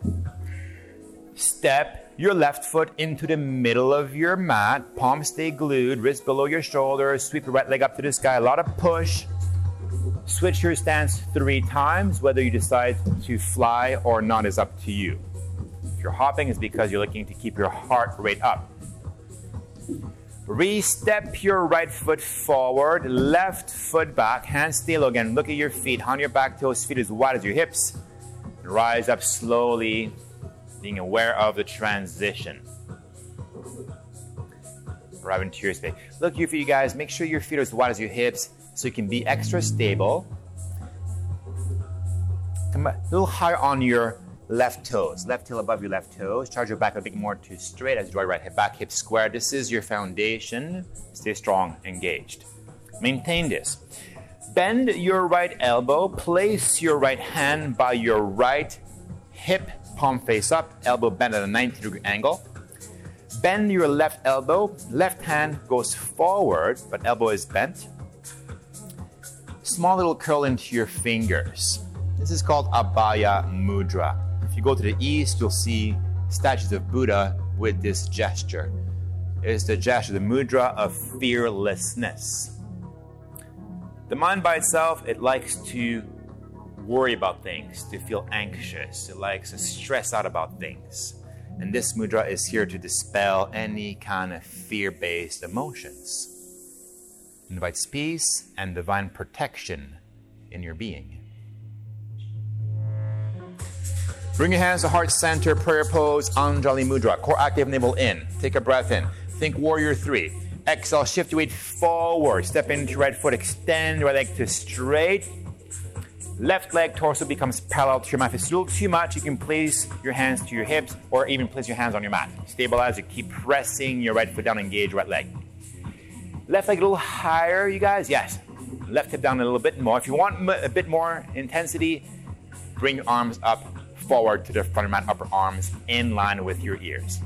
A: step your left foot into the middle of your mat, palms stay glued, wrist below your shoulders, sweep your right leg up to the sky, a lot of push. Switch your stance three times, whether you decide to fly or not is up to you. If you're hopping, it's because you're looking to keep your heart rate up. Re-step your right foot forward, left foot back, hands stay low again, look at your feet, on your back toes, feet as wide as your hips. Rise up slowly, being aware of the transition. Arrive into your space. Look here for you guys, make sure your feet are as wide as your hips so you can be extra stable. Come a little higher on your left toes. Left heel above your left toes. Charge your back a bit more to straight as you draw your right hip back, hip square. This is your foundation. Stay strong, engaged. Maintain this. Bend your right elbow. Place your right hand by your right hip, palm face up, elbow bent at a ninety degree angle. Bend your left elbow. Left hand goes forward, but elbow is bent. Small little curl into your fingers. This is called Abhaya Mudra. If you go to the east, you'll see statues of Buddha with this gesture. It is the gesture, the mudra of fearlessness. The mind by itself, it likes to worry about things, to feel anxious. It likes to stress out about things. And this mudra is here to dispel any kind of fear-based emotions. It invites peace and divine protection in your being. Bring your hands to heart center, prayer pose, Anjali Mudra. Core active, navel in. Take a breath in. Think warrior three. Exhale, shift your weight forward. Step into your right foot, extend your right leg to straight. Left leg, torso becomes parallel to your mat. If it's a little too much, you can place your hands to your hips or even place your hands on your mat. Stabilize, you keep pressing your right foot down, engage right leg. Left leg a little higher, you guys. Yes. Left hip down a little bit more. If you want a bit more intensity, bring your arms up forward to the front of your mat, upper arms in line with your ears.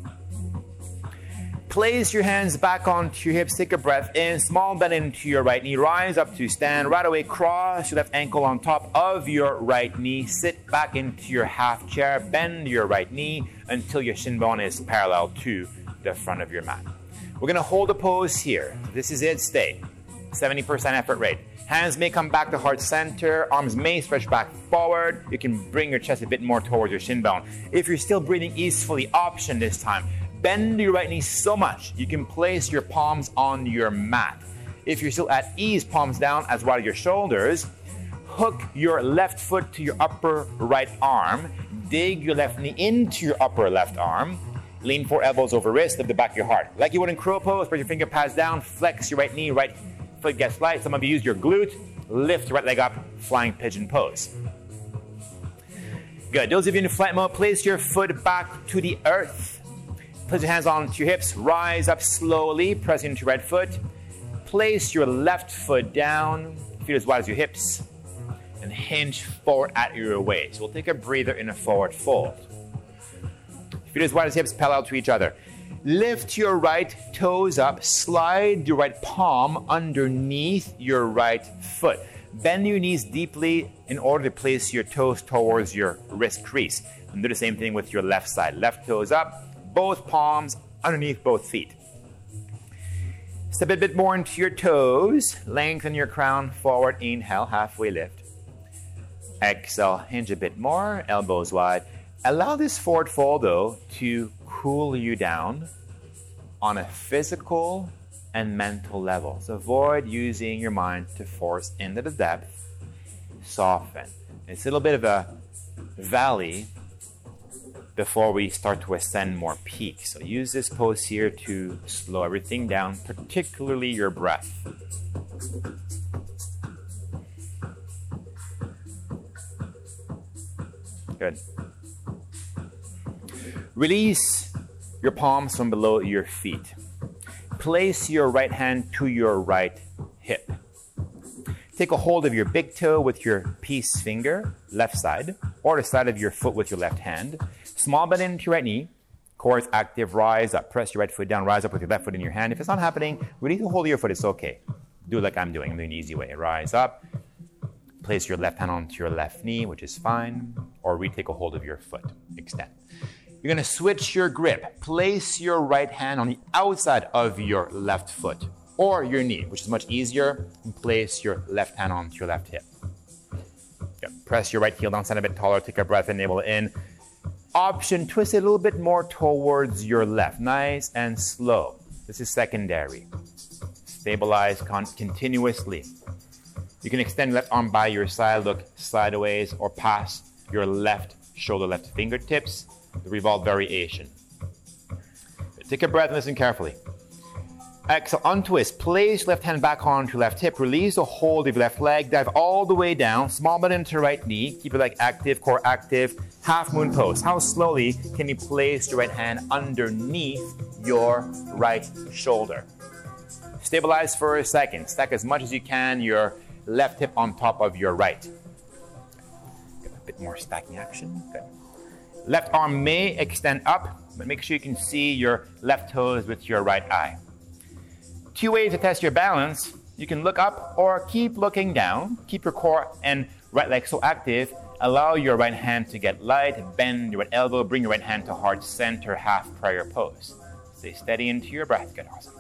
A: Place your hands back onto your hips. Take a breath in. Small bend into your right knee. Rise up to stand. Right away, cross your left ankle on top of your right knee. Sit back into your half chair. Bend your right knee until your shin bone is parallel to the front of your mat. We're going to hold a pose here. This is it. Stay. seventy percent effort rate. Hands may come back to heart center. Arms may stretch back forward. You can bring your chest a bit more towards your shin bone. If you're still breathing easily, option this time. Bend your right knee so much you can place your palms on your mat. If you're still at ease, palms down as wide as your shoulders. Hook your left foot to your upper right arm. Dig your left knee into your upper left arm. Lean four elbows over wrist, lift the back of your heart. Like you would in crow pose, spread your finger pads down, flex your right knee, right foot gets light. Some of you use your glute, lift your right leg up, flying pigeon pose. Good. Those of you in flight mode, place your foot back to the earth. Place your hands onto your hips, rise up slowly, press into your right foot. Place your left foot down, feet as wide as your hips, and hinge forward at your waist. We'll take a breather in a forward fold. Feet as wide as hips, parallel to each other. Lift your right toes up, slide your right palm underneath your right foot. Bend your knees deeply in order to place your toes towards your wrist crease. And do the same thing with your left side. Left toes up, both palms underneath both feet. Step a bit more into your toes. Lengthen your crown forward. Inhale, halfway lift. Exhale, hinge a bit more, elbows wide. Allow this forward fold, though, to cool you down on a physical and mental level. So avoid using your mind to force into the depth. Soften. It's a little bit of a valley before we start to ascend more peaks. So use this pose here to slow everything down, particularly your breath. Good. Release your palms from below your feet. Place your right hand to your right hip. Take a hold of your big toe with your peace finger, left side, or the side of your foot with your left hand. Small bend into your right knee. Core is active, rise up. Press your right foot down, rise up with your left foot in your hand. If it's not happening, release the hold of your foot, it's okay. Do it like I'm doing. I'm doing the easy way. Rise up. Place your left hand onto your left knee, which is fine. Or retake a hold of your foot. Extend. You're going to switch your grip. Place your right hand on the outside of your left foot or your knee, which is much easier. And place your left hand onto your left hip. Good. Press your right heel down, stand a bit taller. Take a breath in, navel in. Option, twist it a little bit more towards your left. Nice and slow. This is secondary. Stabilize con- continuously. You can extend left arm by your side, look sideways or past your left shoulder, left fingertips. The revolve variation. Take a breath and listen carefully. Exhale, untwist. Place left hand back onto left hip. Release the hold of your left leg. Dive all the way down. Small bend into right knee. Keep your leg active, core active. Half moon pose. How slowly can you place your right hand underneath your right shoulder? Stabilize for a second. Stack as much as you can your left hip on top of your right. Get a bit more stacking action. Good. Left arm may extend up, but make sure you can see your left toes with your right eye. Two ways to test your balance. You can look up or keep looking down. Keep your core and right leg so active. Allow your right hand to get light. Bend your right elbow. Bring your right hand to heart center, half prayer pose. Stay steady into your breath. Good, awesome.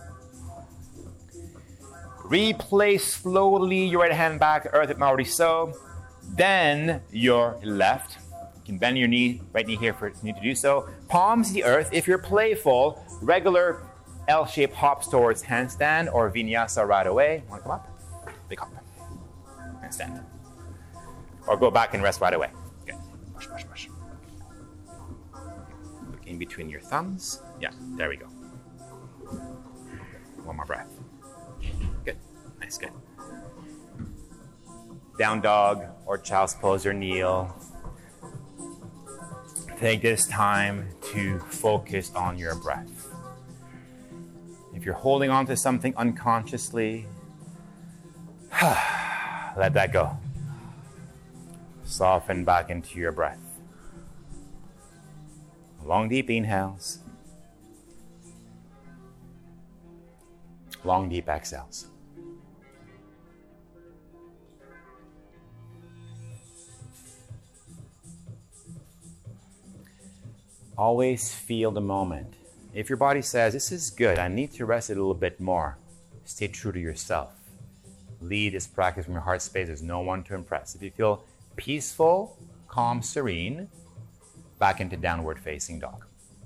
A: Replace slowly your right hand back to earth if not already so. Then your left. You can bend your knee, right knee here if you need to do so. Palms to the earth. If you're playful, regular L-shaped hops towards handstand or vinyasa right away. Want to come up? Big hop. Handstand. Or go back and rest right away. Good. Push, push, push. Look in between your thumbs. Yeah, there we go. One more breath. Good. Nice, good. Down dog or child's pose or kneel. Take this time to focus on your breath. If you're holding on to something unconsciously, let that go. Soften back into your breath. Long, deep inhales. Long, deep exhales. Always feel the moment. If your body says, this is good, I need to rest it a little bit more, stay true to yourself. Lead this practice from your heart space. There's no one to impress. If you feel peaceful, calm, serene, back into downward facing dog.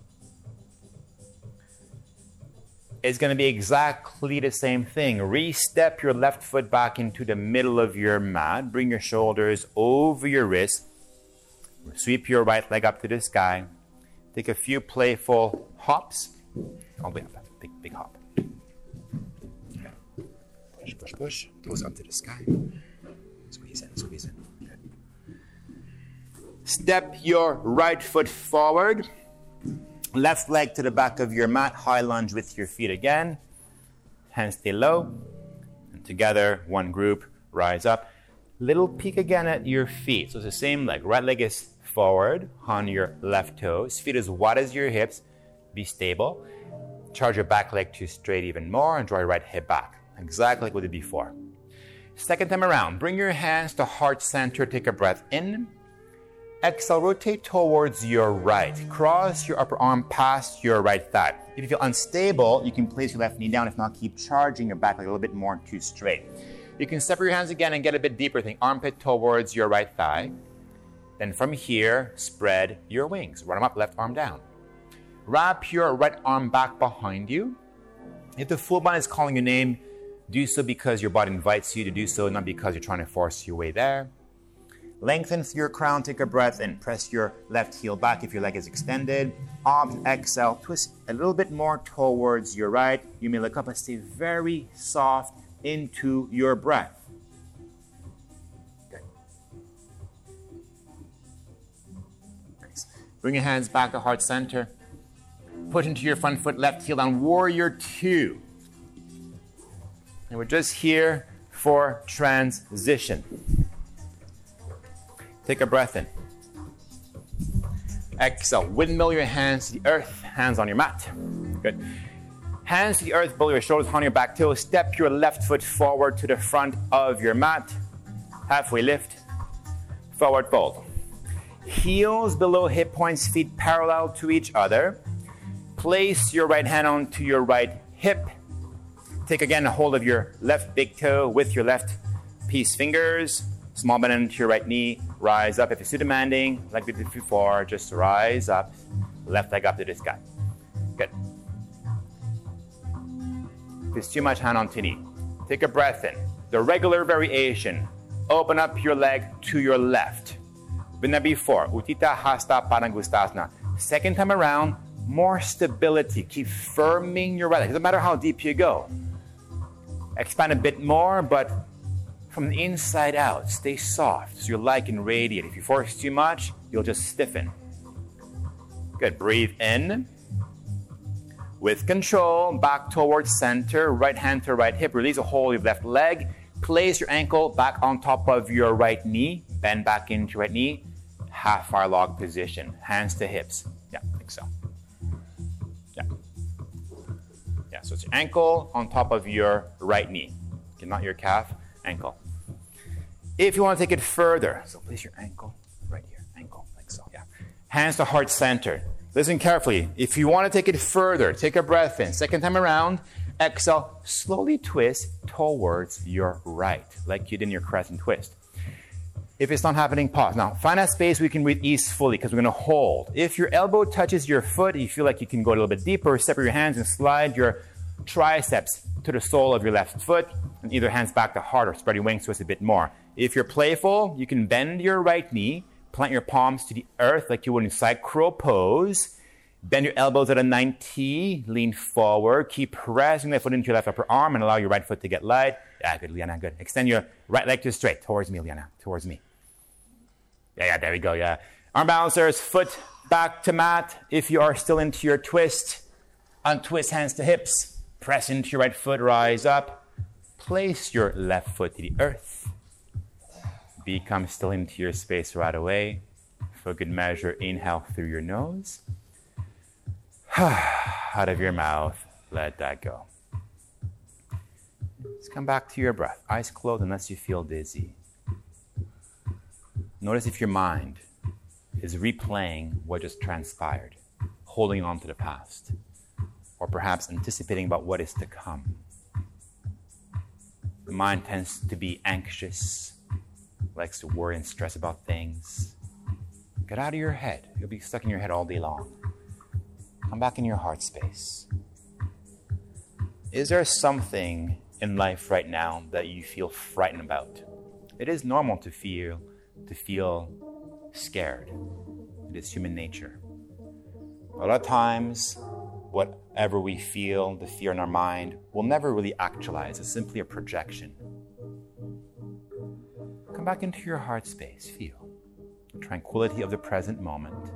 A: It's going to be exactly the same thing. Re-step your left foot back into the middle of your mat. Bring your shoulders over your wrists. Sweep your right leg up to the sky. Take a few playful hops. All the way up. Big, big hop. Okay. Push, push, push. Goes up to the sky. Squeeze in, squeeze in. Good. Step your right foot forward. Left leg to the back of your mat. High lunge with your feet again. Hands stay low. And together, one group, rise up. Little peek again at your feet. So it's the same leg. Right leg is forward on your left toes. Feet as wide as your hips. Be stable. Charge your back leg to straight even more and draw your right hip back. Exactly like we did before. Second time around, bring your hands to heart center. Take a breath in. Exhale, rotate towards your right. Cross your upper arm past your right thigh. If you feel unstable, you can place your left knee down. If not, keep charging your back leg a little bit more to straight. You can separate your hands again and get a bit deeper. Think armpit towards your right thigh. Then from here, spread your wings. Run them up, left arm down. Wrap your right arm back behind you. If the full body is calling your name, do so because your body invites you to do so, not because you're trying to force your way there. Lengthen through your crown, take a breath, and press your left heel back if your leg is extended. Arms, exhale, twist a little bit more towards your right. You may look up and stay very soft into your breath. Bring your hands back to heart center. Push into your front foot, left heel down, warrior two. And we're just here for transition. Take a breath in. Exhale, windmill your hands to the earth, hands on your mat. Good. Hands to the earth, below your shoulders, on your back toe. Step your left foot forward to the front of your mat. Halfway lift, forward fold. Heels below hip points, feet parallel to each other. Place your right hand onto your right hip. Take again a hold of your left big toe with your left peace fingers. Small bend into your right knee. Rise up. If it's too demanding, like we did before, just rise up. Left leg up to the sky. Good. If it's too much, hand onto knee. Take a breath in. The regular variation. Open up your leg to your left. Been there before. Utthita Hasta Padangusthasana. Second time around, more stability. Keep firming your right leg. Doesn't matter how deep you go. Expand a bit more, but from the inside out, stay soft so your leg can radiate. If you force too much, you'll just stiffen. Good. Breathe in. With control, back towards center, right hand to right hip. Release a hold of your left leg. Place your ankle back on top of your right knee. Bend back into your right knee. Half our log position. Hands to hips. Yeah, like so. Yeah. Yeah, so it's your ankle on top of your right knee. Okay, not your calf, ankle. If you want to take it further, so place your ankle right here. Ankle, like so. Yeah. Hands to heart center. Listen carefully. If you want to take it further, take a breath in. Second time around, exhale, slowly twist towards your right, like you did in your crescent twist. If it's not happening, pause. Now, find that space where you can breathe easefully because we're going to hold. If your elbow touches your foot, you feel like you can go a little bit deeper, separate your hands and slide your triceps to the sole of your left foot, and either hands back to heart or spread your wings twist a bit more. If you're playful, you can bend your right knee, plant your palms to the earth like you would in side crow pose. Bend your elbows at a ninety, lean forward. Keep pressing that foot into your left upper arm and allow your right foot to get light. Yeah, good, Liana, good. Extend your right leg to straight, towards me, Liana, towards me. Yeah, yeah, there we go, yeah. Arm balancers, foot back to mat. If you are still into your twist, untwist hands to hips. Press into your right foot, rise up. Place your left foot to the earth. Become still into your space right away. For good measure, inhale through your nose. Out of your mouth, let that go. Let's come back to your breath. Eyes closed unless you feel dizzy. Notice if your mind is replaying what just transpired, holding on to the past, or perhaps anticipating about what is to come. The mind tends to be anxious, likes to worry and stress about things. Get out of your head. You'll be stuck in your head all day long. Come back in your heart space. Is there something in life right now that you feel frightened about? It is normal to feel to feel scared. It is human nature. A lot of times, whatever we feel, the fear in our mind, will never really actualize. It's simply a projection. Come back into your heart space. Feel the tranquility of the present moment.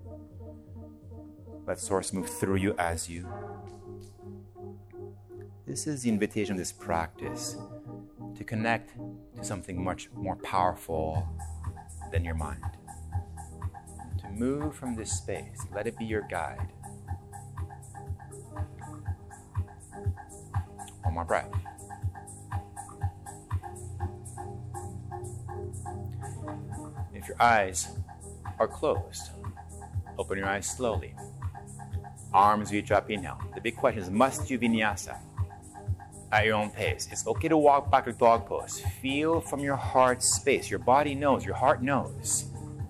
A: Let Source move through you as you. This is the invitation of this practice to connect to something much more powerful than your mind. To move from this space, let it be your guide. One more breath. If your eyes are closed, open your eyes slowly. Arms reach up, inhale. The big question is, must you vinyasa at your own pace? It's okay to walk back to dog pose. Feel from your heart space. Your body knows, your heart knows.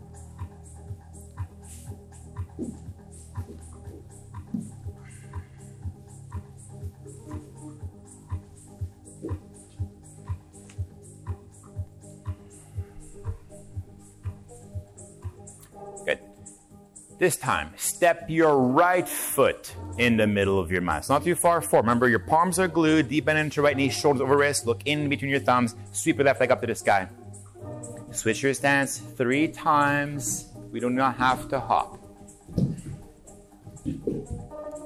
A: Good. This time, step your right foot in the middle of your mat. It's not too far forward. Remember, your palms are glued, deep bend into your right knee, shoulders over wrist, look in between your thumbs, sweep your left leg up to the sky. Switch your stance three times. We do not have to hop.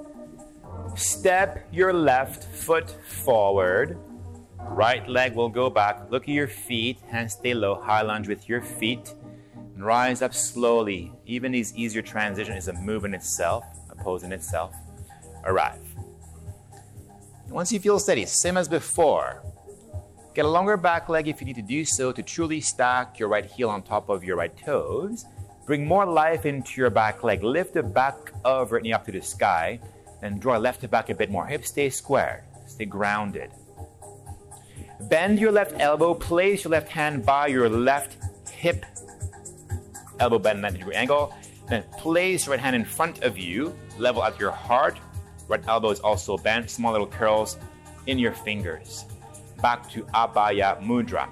A: Step your left foot forward. Right leg will go back. Look at your feet. Hands stay low. High lunge with your feet. And rise up slowly. Even these easier transition is a move in itself, a pose in itself. Arrive. Once you feel steady, same as before. Get a longer back leg if you need to do so to truly stack your right heel on top of your right toes. Bring more life into your back leg. Lift the back of your knee up to the sky. Then draw left to back a bit more. Hips stay squared. Stay grounded. Bend your left elbow. Place your left hand by your left hip. Elbow bend ninety degree angle. Then place your right hand in front of you. Level at your heart. Right elbow is also bent. Small little curls in your fingers. Back to Abhaya Mudra.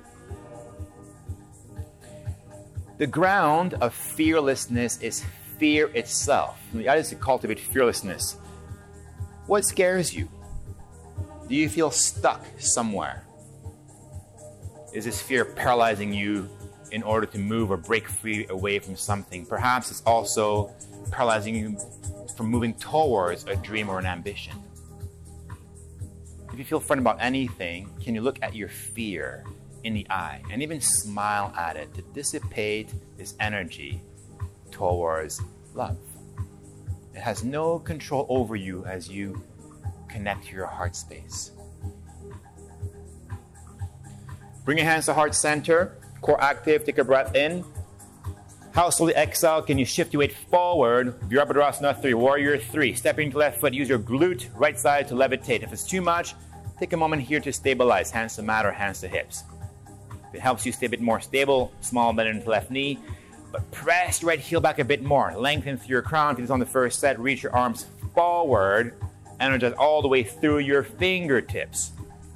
A: The ground of fearlessness is fear itself. The idea is to cultivate fearlessness. What scares you? Do you feel stuck somewhere? Is this fear paralyzing you in order to move or break free away from something? Perhaps it's also paralyzing you from moving towards a dream or an ambition. If you feel frightened about anything, can you look at your fear in the eye and even smile at it to dissipate this energy towards love? It has no control over you as you connect to your heart space. Bring your hands to heart center, core active, take a breath in. How slowly exhale, can you shift your weight forward? Virabhadrasana three, warrior three. Stepping to left foot, use your glute, right side to levitate. If it's too much, take a moment here to stabilize. Hands to mat or hands to hips. If it helps you stay a bit more stable, small bend into left knee, but press your right heel back a bit more. Lengthen through your crown. If it's on the first set, reach your arms forward. Energize all the way through your fingertips.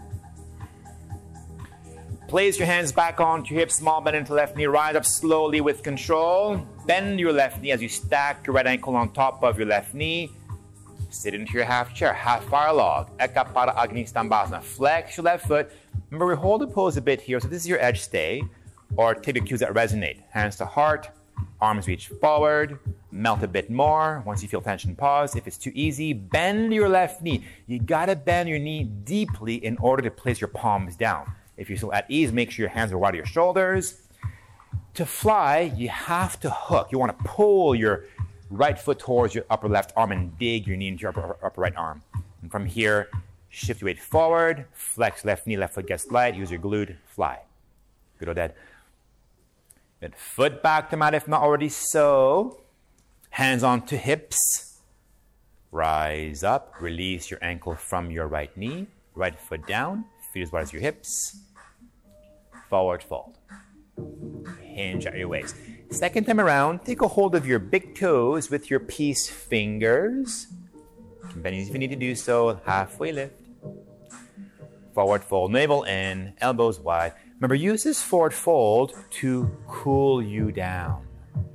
A: Place your hands back onto your hips, small bend into left knee. Rise up slowly with control. Bend your left knee as you stack your right ankle on top of your left knee. Sit into your half chair, half fire log. Eka Pada Agni Stambhasana. Flex your left foot. Remember, we hold the pose a bit here, so this is your edge stay. Or take the cues that resonate. Hands to heart, arms reach forward, melt a bit more. Once you feel tension, pause. If it's too easy, bend your left knee. You gotta bend your knee deeply in order to place your palms down. If you're still at ease, make sure your hands are wide of your shoulders. To fly, you have to hook. You want to pull your right foot towards your upper left arm and dig your knee into your upper, upper right arm. And from here, shift your weight forward, flex left knee, left foot gets light, use your glute, fly. Good or dead. Good. Foot back to mat if not already so. Hands onto hips. Rise up, release your ankle from your right knee. Right foot down, feet as wide as your hips. Forward fold. Hinge at your waist. Second time around, take a hold of your big toes with your peace fingers. Bend if you need to do so. Halfway lift. Forward fold, navel in, elbows wide. Remember, use this forward fold to cool you down.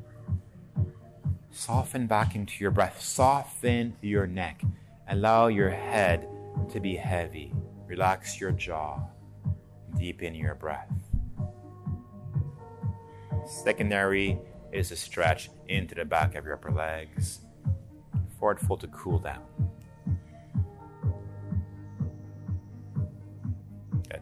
A: Soften back into your breath. Soften your neck. Allow your head to be heavy. Relax your jaw. Deepen your breath. Secondary is a stretch into the back of your upper legs. Forward fold to cool down. Good.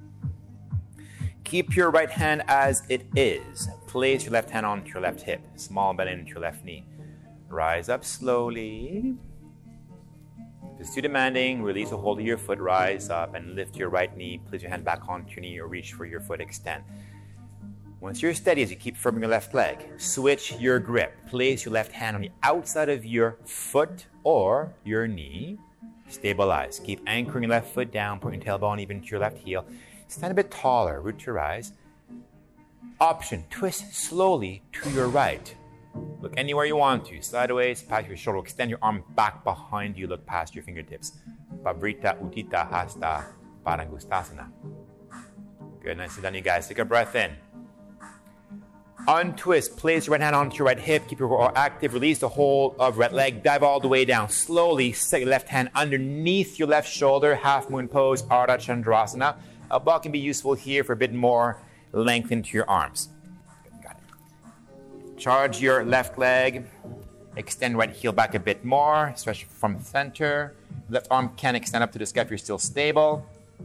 A: Keep your right hand as it is. Place your left hand onto your left hip. Small bend into your left knee. Rise up slowly. If it's too demanding, release a hold of your foot. Rise up and lift your right knee. Place your hand back onto your knee or reach for your foot. Extend. Once you're steady as you keep firming your left leg, switch your grip. Place your left hand on the outside of your foot or your knee. Stabilize. Keep anchoring your left foot down, putting your tailbone even to your left heel. Stand a bit taller, root to rise. Option, twist slowly to your right. Look anywhere you want to. Sideways, past your shoulder. Extend your arm back behind you. Look past your fingertips. Pavrita Utthita Hasta Padangusthasana. Good, nicely done, you guys. Take a breath in. Untwist. Place your right hand onto your right hip. Keep your core active. Release the hold of right leg. Dive all the way down. Slowly set your left hand underneath your left shoulder. Half moon pose. Ardha Chandrasana. A ball can be useful here for a bit more length into your arms. Got it. Charge your left leg. Extend right heel back a bit more, especially from center. Left arm can extend up to the sky if you're still stable.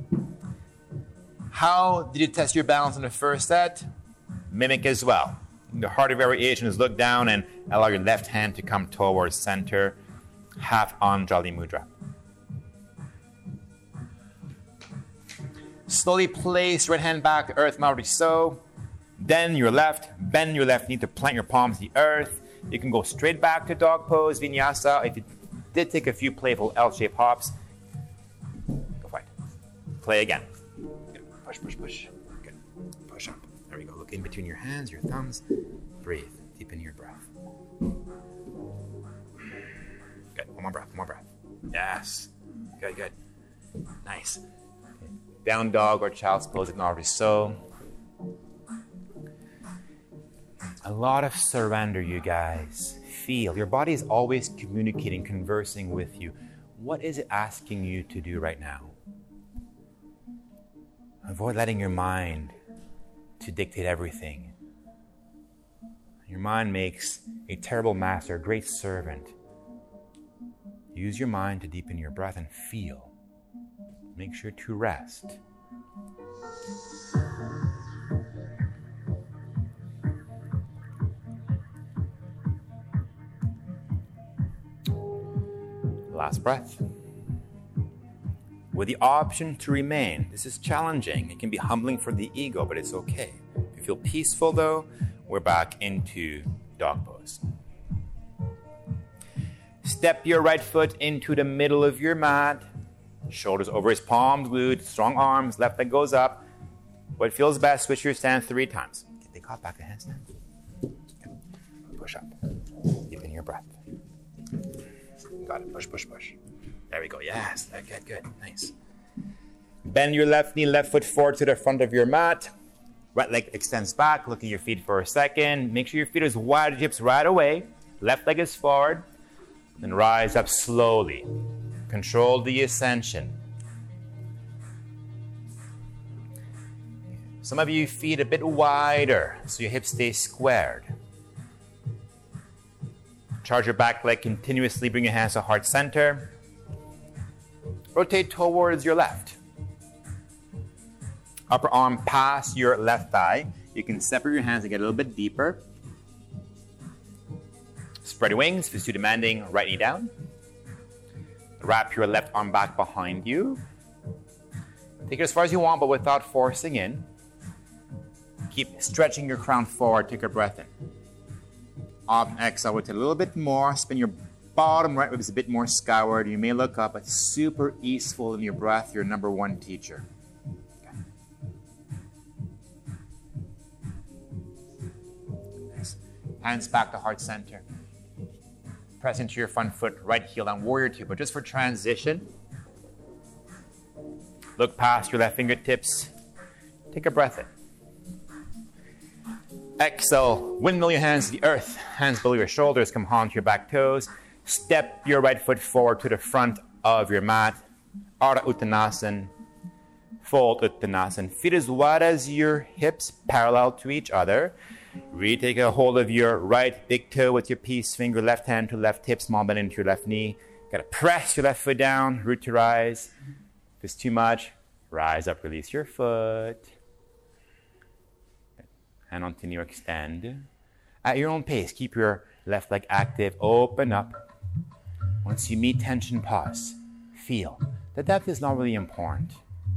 A: How did you test your balance in the first set? Mimic as well. The heart of variation is look down and allow your left hand to come towards center. Half Anjali Mudra. Slowly place right hand back to earth, Maori So. Then your left, bend your left knee to plant your palms to the earth. You can go straight back to dog pose, vinyasa. If you did take a few playful L-shaped hops, go for it. Play again. Good. Push, push, push. Good. Push up. There we go. Look in between your hands, your thumbs. Breathe. Deepen your breath. Good. One more breath. One more breath. Yes. Good, good. Nice. Okay. Down dog or child's pose in Maori So. A lot of surrender, you guys. Feel. Your body is always communicating, conversing with you. What is it asking you to do right now? Avoid letting your mind to dictate everything. Your mind makes a terrible master, a great servant. Use your mind to deepen your breath and feel. Make sure to rest. Last breath. With the option to remain. This is challenging. It can be humbling for the ego, but it's okay. If you feel peaceful though, we're back into dog pose. Step your right foot into the middle of your mat. Shoulders over his palms glued, strong arms, left leg goes up. What feels best, switch your stance three times. Get the caught back to handstand. Push up. Deepen your breath. Got it. Push, push, push. There we go. Yes. Good, good. Nice. Bend your left knee, left foot forward to the front of your mat. Right leg extends back. Look at your feet for a second. Make sure your feet are as wide as hips right away. Left leg is forward. Then rise up slowly. Control the ascension. Some of you feet a bit wider so your hips stay squared. Charge your back leg continuously. Bring your hands to heart center. Rotate towards your left. Upper arm past your left thigh. You can separate your hands and get a little bit deeper. Spread your wings if it's too demanding. Right knee down. Wrap your left arm back behind you. Take it as far as you want, but without forcing in. Keep stretching your crown forward. Take a breath in. Up and exhale with a little bit more. Spin your bottom right ribs a bit more skyward. You may look up, but super easeful in your breath. Your number one teacher. Okay. Nice. Hands back to heart center. Press into your front foot, right heel down, warrior two. But just for transition, look past your left fingertips. Take a breath in. Exhale, windmill your hands to the earth. Hands below your shoulders, come onto your back toes. Step your right foot forward to the front of your mat. Ardha Uttanasana. Fold Uttanasana. Feet as wide as your hips, parallel to each other. Really take a hold of your right big toe with your peace finger, left hand to left hip, small bend into your left knee. Gotta press your left foot down, root to rise. If it's too much, rise up, release your foot. And continue, extend. At your own pace, keep your left leg active, open up. Once you meet tension, pause. Feel. The depth is not really important.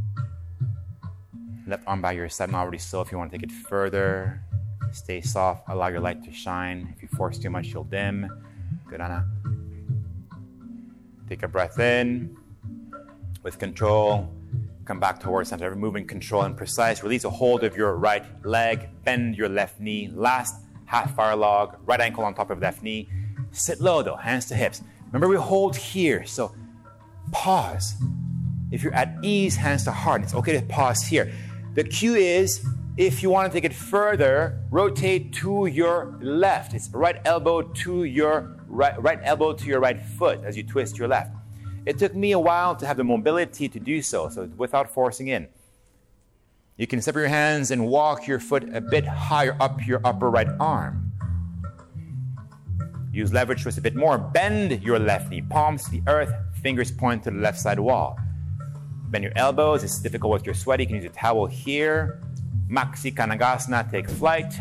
A: Left arm by your side, not already so. If you want to take it further, stay soft, allow your light to shine. If you force too much, you'll dim. Good, Anna. Take a breath in. With control. Come back towards center. Moving control and precise. Release a hold of your right leg. Bend your left knee. Last half fire log. Right ankle on top of left knee. Sit low though. Hands to hips. Remember we hold here. So pause. If you're at ease, hands to heart. It's okay to pause here. The cue is if you want to take it further, rotate to your left. It's right elbow to your right, right elbow to your right foot as you twist your left. It took me a while to have the mobility to do so, so without forcing in. You can separate your hands and walk your foot a bit higher up your upper right arm. Use leverage twist a bit more. Bend your left knee, palms to the earth, fingers point to the left side wall. Bend your elbows. It's difficult with your sweaty. You can use a towel here. Maxi Kanagasana, take flight.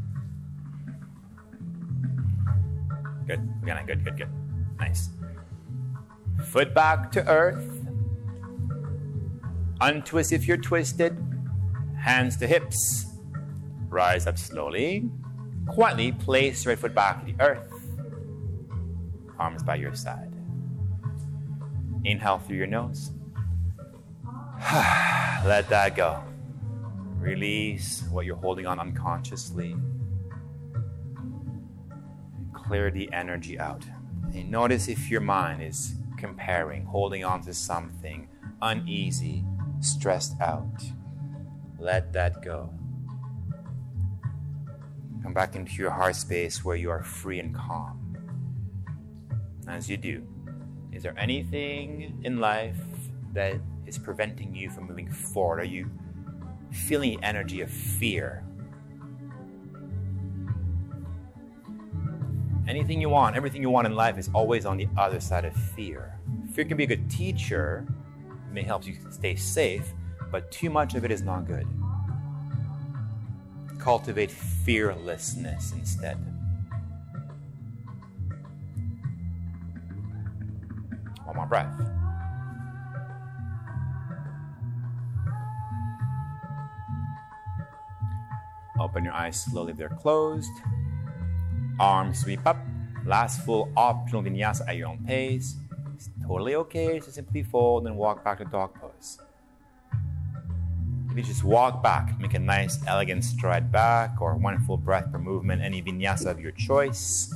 A: Good, again, good, good, good. Nice. Foot back to earth. Untwist if you're twisted. Hands to hips. Rise up slowly. Quietly place your right foot back to the earth. Arms by your side. Inhale through your nose. Let that go. Release what you're holding on unconsciously. Clear the energy out. And notice if your mind is comparing, holding on to something, uneasy, stressed out. Let that go. Come back into your heart space where you are free and calm. As you do, is there anything in life that is preventing you from moving forward? Are you feeling the energy of fear? Anything you want, everything you want in life is always on the other side of fear. Fear can be a good teacher. It may help you stay safe, but too much of it is not good. Cultivate fearlessness instead. One more breath. Open your eyes slowly if they're closed. Arms sweep up. Last full optional vinyasa at your own pace. It's totally okay to simply fold and walk back to dog pose. If you just walk back, make a nice elegant stride back, or one full breath per movement, any vinyasa of your choice.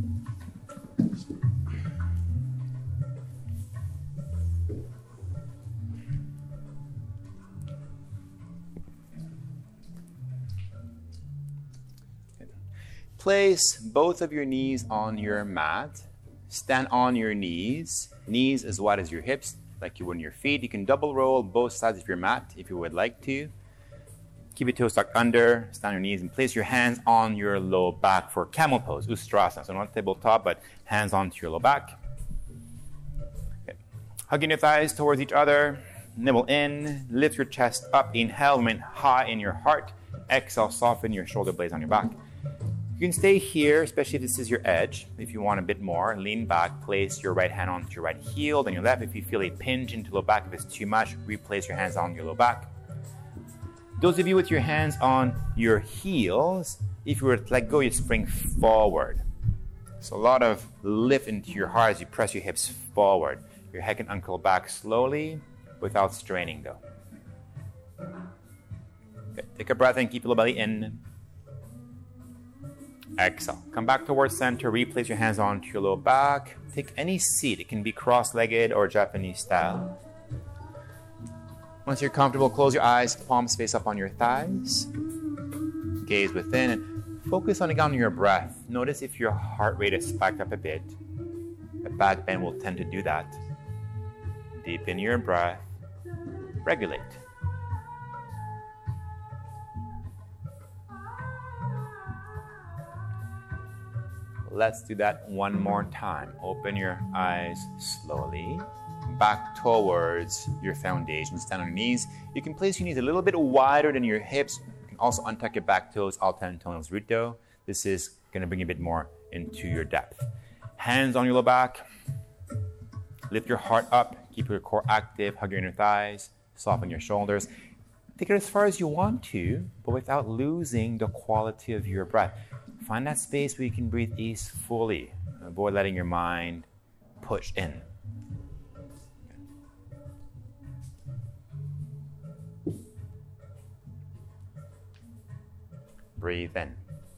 A: Place both of your knees on your mat. Stand on your knees. Knees as wide as your hips, like you would on your feet. You can double roll both sides of your mat if you would like to. Keep your toes tucked under, stand on your knees, and place your hands on your low back for camel pose, Ustrasana. So not tabletop, but hands onto your low back. Okay. Hugging your thighs towards each other. Nibble in, lift your chest up. Inhale, remain high in your heart. Exhale, soften your shoulder blades on your back. You can stay here, especially if this is your edge. If you want a bit more, lean back, place your right hand onto your right heel, then your left. If you feel a pinch into low back, if it's too much, replace your hands on your low back. Those of you with your hands on your heels, if you were to let go, you spring forward. So a lot of lift into your heart as you press your hips forward. Your head can uncurl back slowly without straining though. Okay, take a breath and keep your low belly in. Exhale. Come back towards center. Replace your hands onto your low back. Take any seat. It can be cross-legged or Japanese style. Once you're comfortable, close your eyes, palms face up on your thighs. Gaze within and focus on again on your breath. Notice if your heart rate is spiked up a bit. A back bend will tend to do that. Deepen your breath. Regulate. Let's do that one more time. Open your eyes slowly. Back towards your foundation. Stand on your knees. You can place your knees a little bit wider than your hips. You can also untuck your back toes, Alternate Rito. This is going to bring you a bit more into your depth. Hands on your low back. Lift your heart up. Keep your core active. Hug your inner thighs. Soften your shoulders. Take it as far as you want to, but without losing the quality of your breath. Find that space where you can breathe ease fully. Avoid letting your mind push in. Breathe in.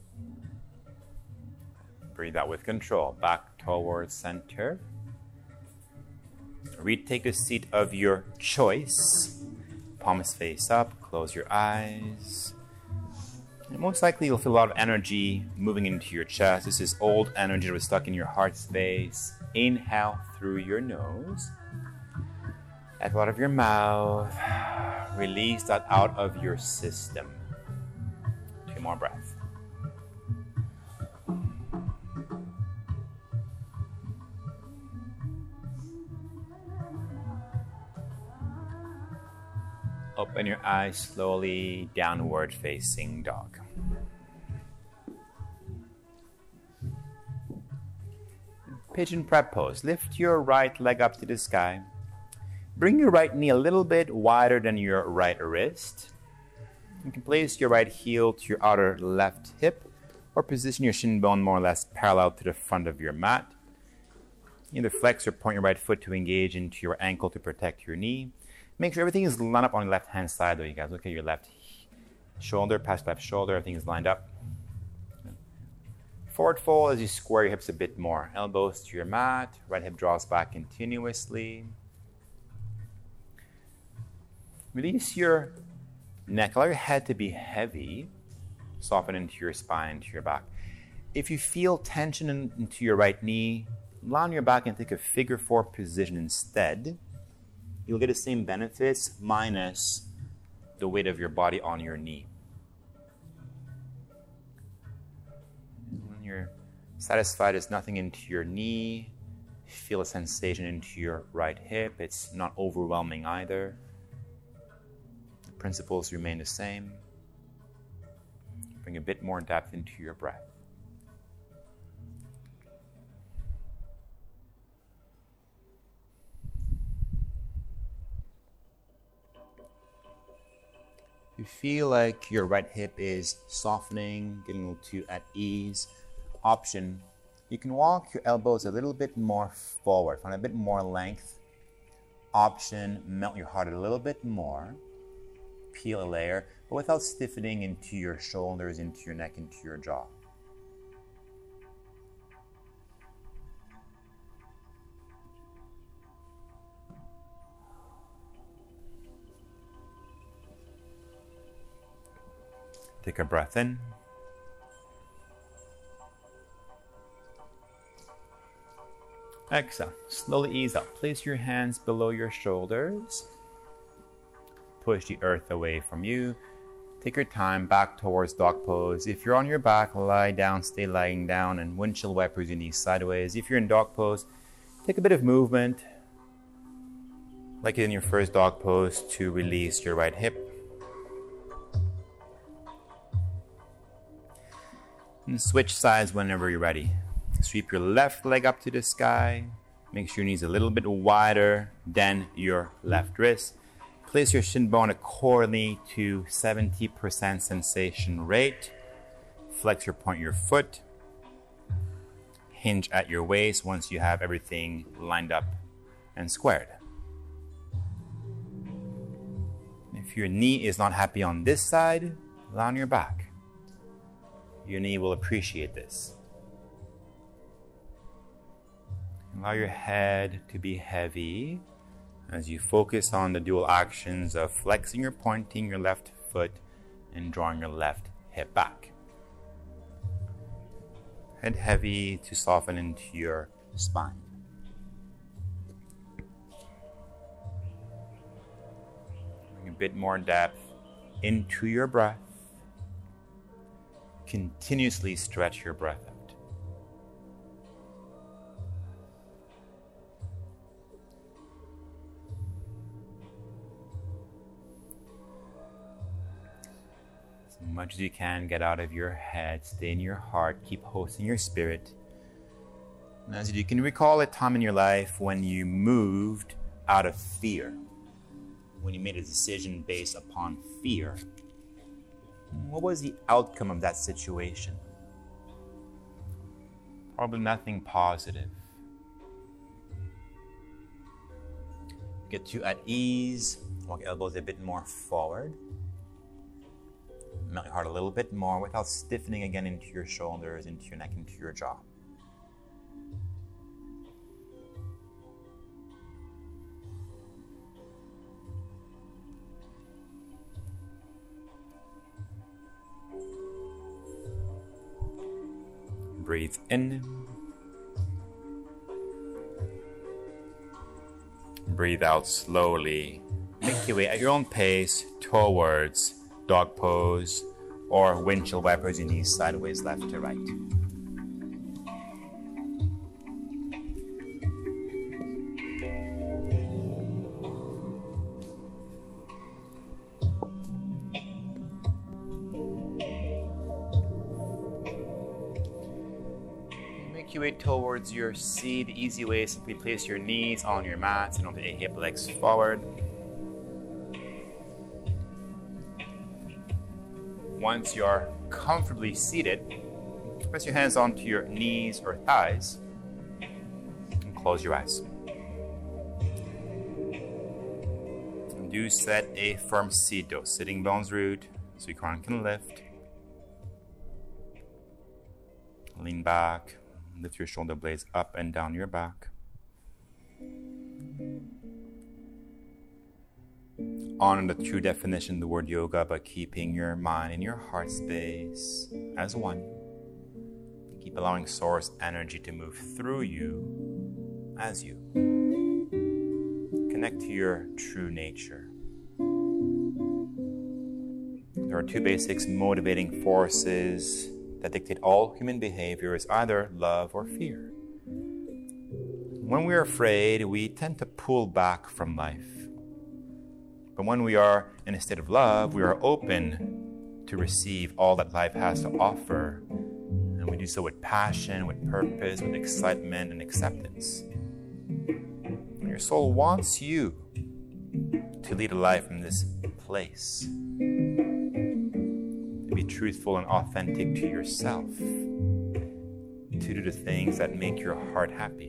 A: Breathe out with control. Back towards center. Retake a seat of your choice. Palms face up. Close your eyes. And most likely you'll feel a lot of energy moving into your chest. This is old energy that was stuck in your heart space. Inhale through your nose. Exhale out of your mouth. Release that out of your system. Two more breaths. Open your eyes slowly, downward facing dog. Pigeon prep pose. Lift your right leg up to the sky. Bring your right knee a little bit wider than your right wrist. You can place your right heel to your outer left hip or position your shin bone more or less parallel to the front of your mat. Either flex or point your right foot to engage into your ankle to protect your knee. Make sure everything is lined up on the left-hand side, though, you guys. Look at your left shoulder, past left shoulder. Everything is lined up. Forward fold as you square your hips a bit more. Elbows to your mat. Right hip draws back continuously. Release your neck. Allow your head to be heavy. Soften into your spine, into your back. If you feel tension in, into your right knee, lie on your back and take a figure four position instead. You'll get the same benefits minus the weight of your body on your knee. When you're satisfied, there's nothing into your knee. Feel a sensation into your right hip. It's not overwhelming either. The principles remain the same. Bring a bit more depth into your breath. You feel like your right hip is softening, getting a little too at ease. Option, you can walk your elbows a little bit more forward, find a bit more length. Option, melt your heart a little bit more. Peel a layer, but without stiffening into your shoulders, into your neck, into your jaw. Take a breath in. Exhale. Slowly ease up. Place your hands below your shoulders. Push the earth away from you. Take your time back towards dog pose. If you're on your back, lie down, stay lying down, and windshield wipers your knees sideways. If you're in dog pose, take a bit of movement, like in your first dog pose, to release your right hip. And switch sides whenever you're ready. Sweep your left leg up to the sky. Make sure your knees a little bit wider than your left wrist. Place your shin bone accordingly to seventy percent sensation rate. Flex your point your foot. Hinge at your waist once you have everything lined up and squared. If your knee is not happy on this side, lie on your back. Your knee will appreciate this. Allow your head to be heavy as you focus on the dual actions of flexing or pointing your left foot and drawing your left hip back. Head heavy to soften into your spine. Bring a bit more depth into your breath. Continuously stretch your breath out. As much as you can, get out of your head, stay in your heart, keep hosting your spirit. And as you can recall a time in your life when you moved out of fear, when you made a decision based upon fear. What was the outcome of that situation? Probably nothing positive. Get you at ease. Walk your elbows a bit more forward. Melt your heart a little bit more without stiffening again into your shoulders, into your neck, into your jaw. Breathe in. Breathe out slowly. Make your way at your own pace towards dog pose or windshield wipers your knees sideways, left to right. make your way towards your seat. The easy way is simply place your knees on your mat and don't take hip legs forward. Once you're comfortably seated, press your hands onto your knees or thighs and close your eyes. And do set a firm seat though, sitting bones root so your crown can lift. Lean back, lift your shoulder blades up and down your back. Honor the true definition of the word yoga by keeping your mind in your heart space as one. Keep allowing source energy to move through you as you. Connect to your true nature. There are two basic motivating forces that dictate all human behavior is either love or fear. When we are afraid, we tend to pull back from life. But when we are in a state of love, we are open to receive all that life has to offer. And we do so with passion, with purpose, with excitement and acceptance. And your soul wants you to lead a life from this place. Be truthful and authentic to yourself, to do the things that make your heart happy.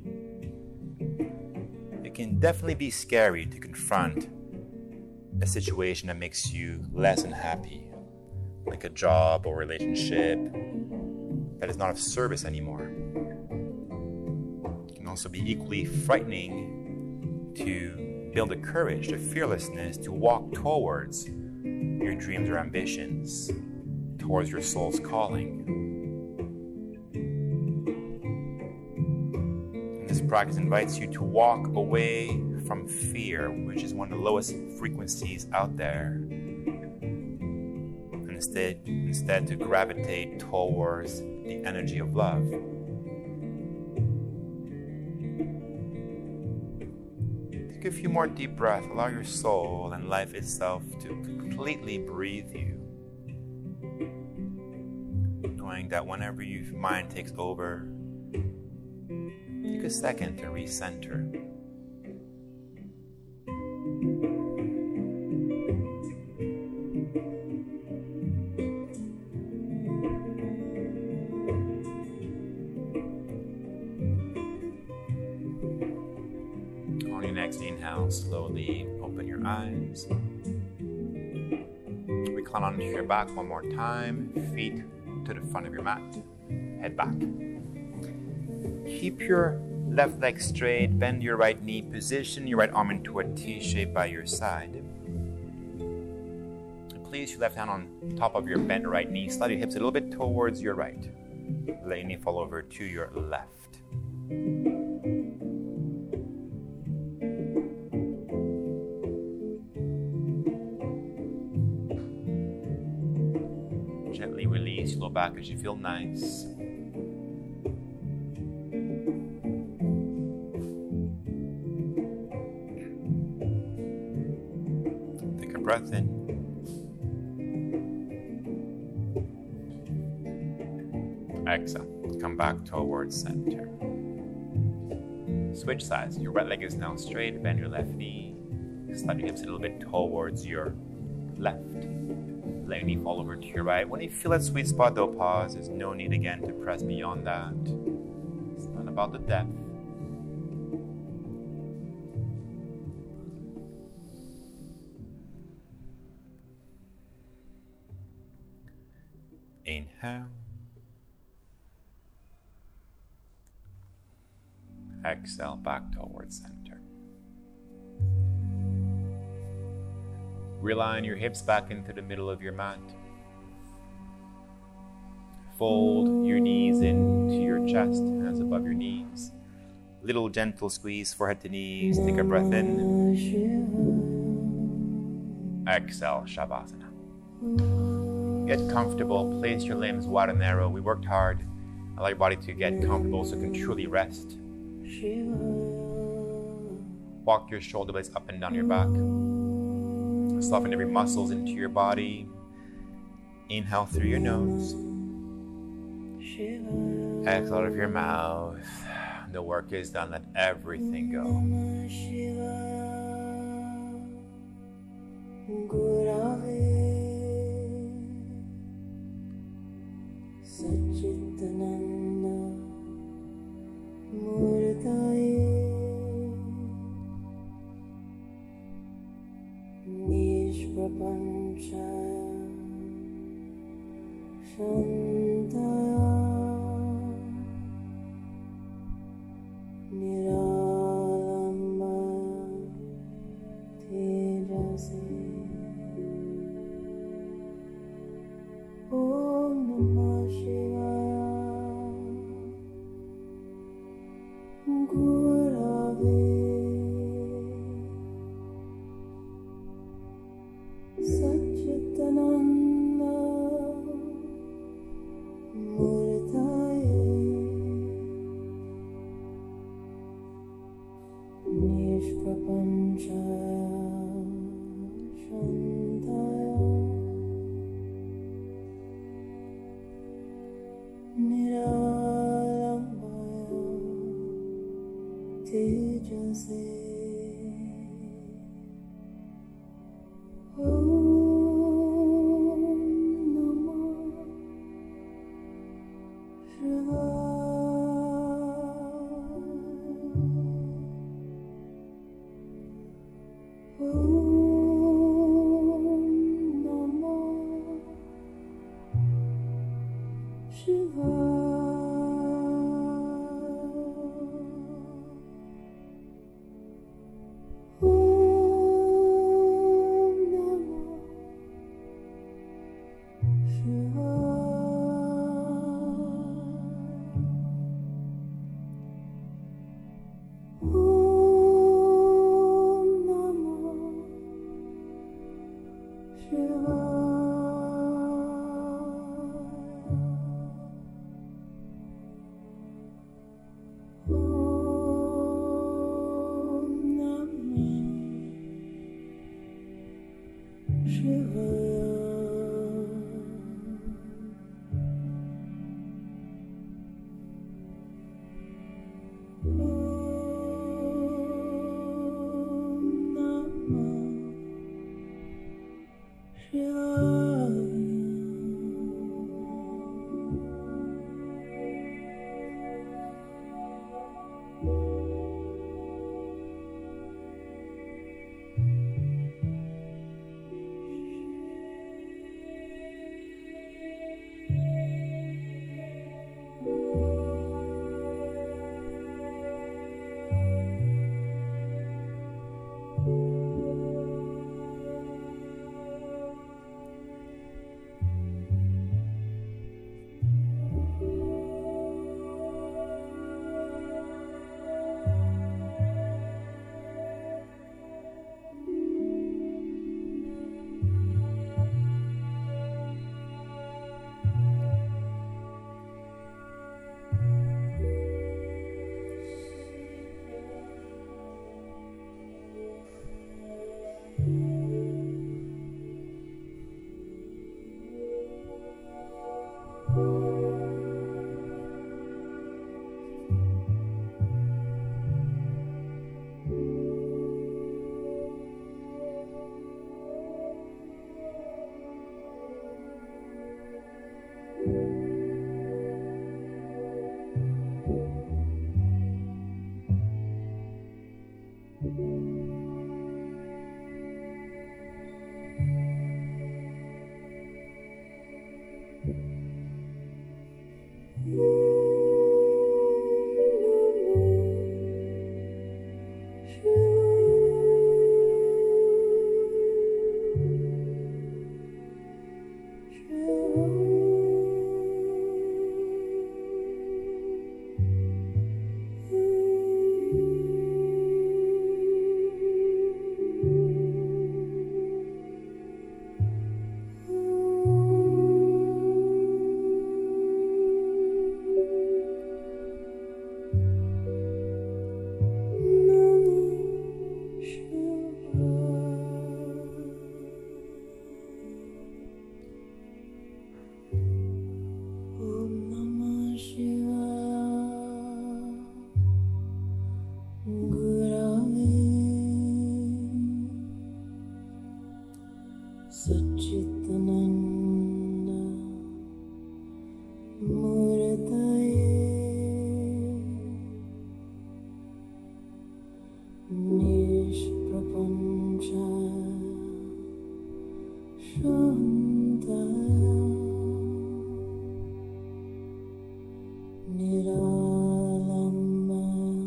A: It can definitely be scary to confront a situation that makes you less than happy, like a job or relationship that is not of service anymore. It can also be equally frightening to build the courage, the fearlessness to walk towards your dreams or ambitions, towards your soul's calling. And this practice invites you to walk away from fear, which is one of the lowest frequencies out there, and instead, instead to gravitate towards the energy of love. Take a few more deep breaths. Allow your soul and life itself to completely breathe you. Knowing that whenever your mind takes over, take a second to recenter. On your next inhale, slowly open your eyes. Recline onto your back one more time. Feet to the front of your mat. Head back. Keep your left leg straight. Bend your right knee. Position your right arm into a T shape by your side. And place your left hand on top of your bent right knee. Slide your hips a little bit towards your right. Let your knee fall over to your left. Gently release your low back as you feel nice. Take a breath in. Exhale. Come back towards center. Switch sides. Your right leg is now straight. Bend your left knee. Slide your hips a little bit towards your left. Let your knee fall over to your right. When you feel that sweet spot, though, pause. There's no need again to press beyond that. It's not about the depth. Inhale. Exhale back towards center. Realign your hips back into the middle of your mat. Fold your knees into your chest, hands above your knees. Little gentle squeeze, forehead to knees. Take a breath in. Exhale, Shavasana. Get comfortable. Place your limbs wide and narrow. We worked hard. Allow your body to get comfortable so you can truly rest. Walk your shoulder blades up and down your back. Soften every muscle into your body. Inhale through your nose. Exhale out of your mouth. The work is done. Let everything go.
B: Satchitananda Murtaye Nishprapanchaya Shantaya Niralambaya Tejase Om Namah Shivaya Gurave Satchitananda Murtaye Nishprapanchaya Shantaya Niralambaya Tejase Om Satchitananda Murtaye Nishprapancha Shantaya Niralamba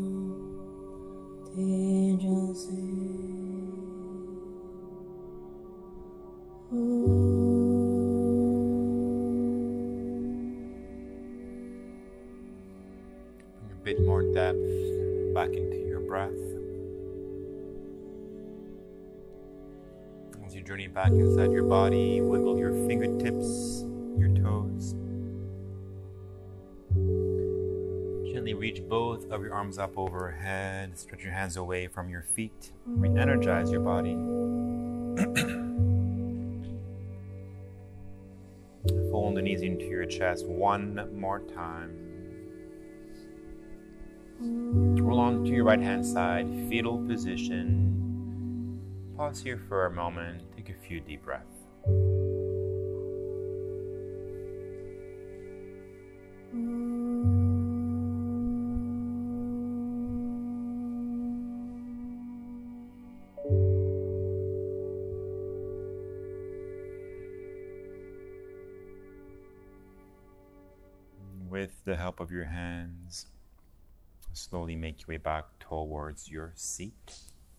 B: Tejase
A: Bring a bit more depth back into your breath. As you journey back inside your body, wiggle your fingertips, your toes. Gently reach both of your arms up overhead. Stretch your hands away from your feet. Re-energize your body. Fold the knees into your chest one more time. Roll on to your right hand side, fetal position. Pause here for a moment. Take a few deep breaths. With the help of your hands, slowly make your way back towards your seat.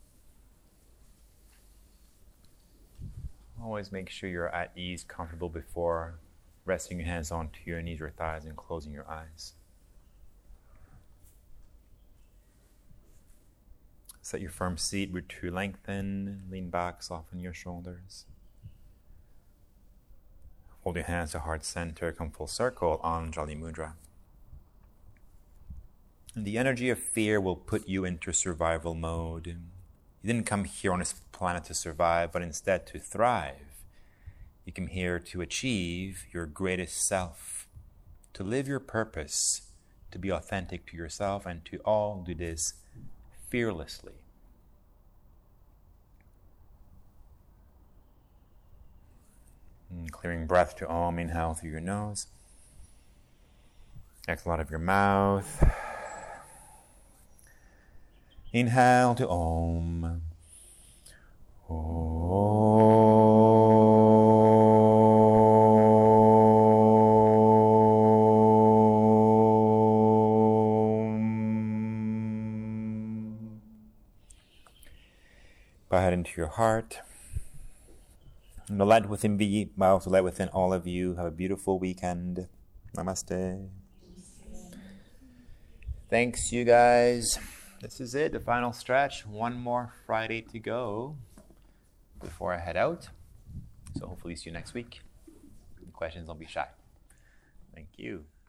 A: Always make sure you're at ease, comfortable before resting your hands onto your knees or thighs and closing your eyes. Set your firm seat, root to lengthen, lean back, soften your shoulders. Hold your hands to heart center, come full circle, Anjali Mudra. And the energy of fear will put you into survival mode. You didn't come here on this planet to survive, but instead to thrive. You came here to achieve your greatest self, to live your purpose, to be authentic to yourself, and to all do this fearlessly. And clearing breath to Om, inhale through your nose. Exhale out of your mouth. Inhale to Om. Om. Bow head into your heart. And the light within me, but also light within all of you. Have a beautiful weekend. Namaste. Thanks, you guys. This is it, the final stretch. One more Friday to go before I head out. So hopefully see you next week. Any questions, don't be shy. Thank you.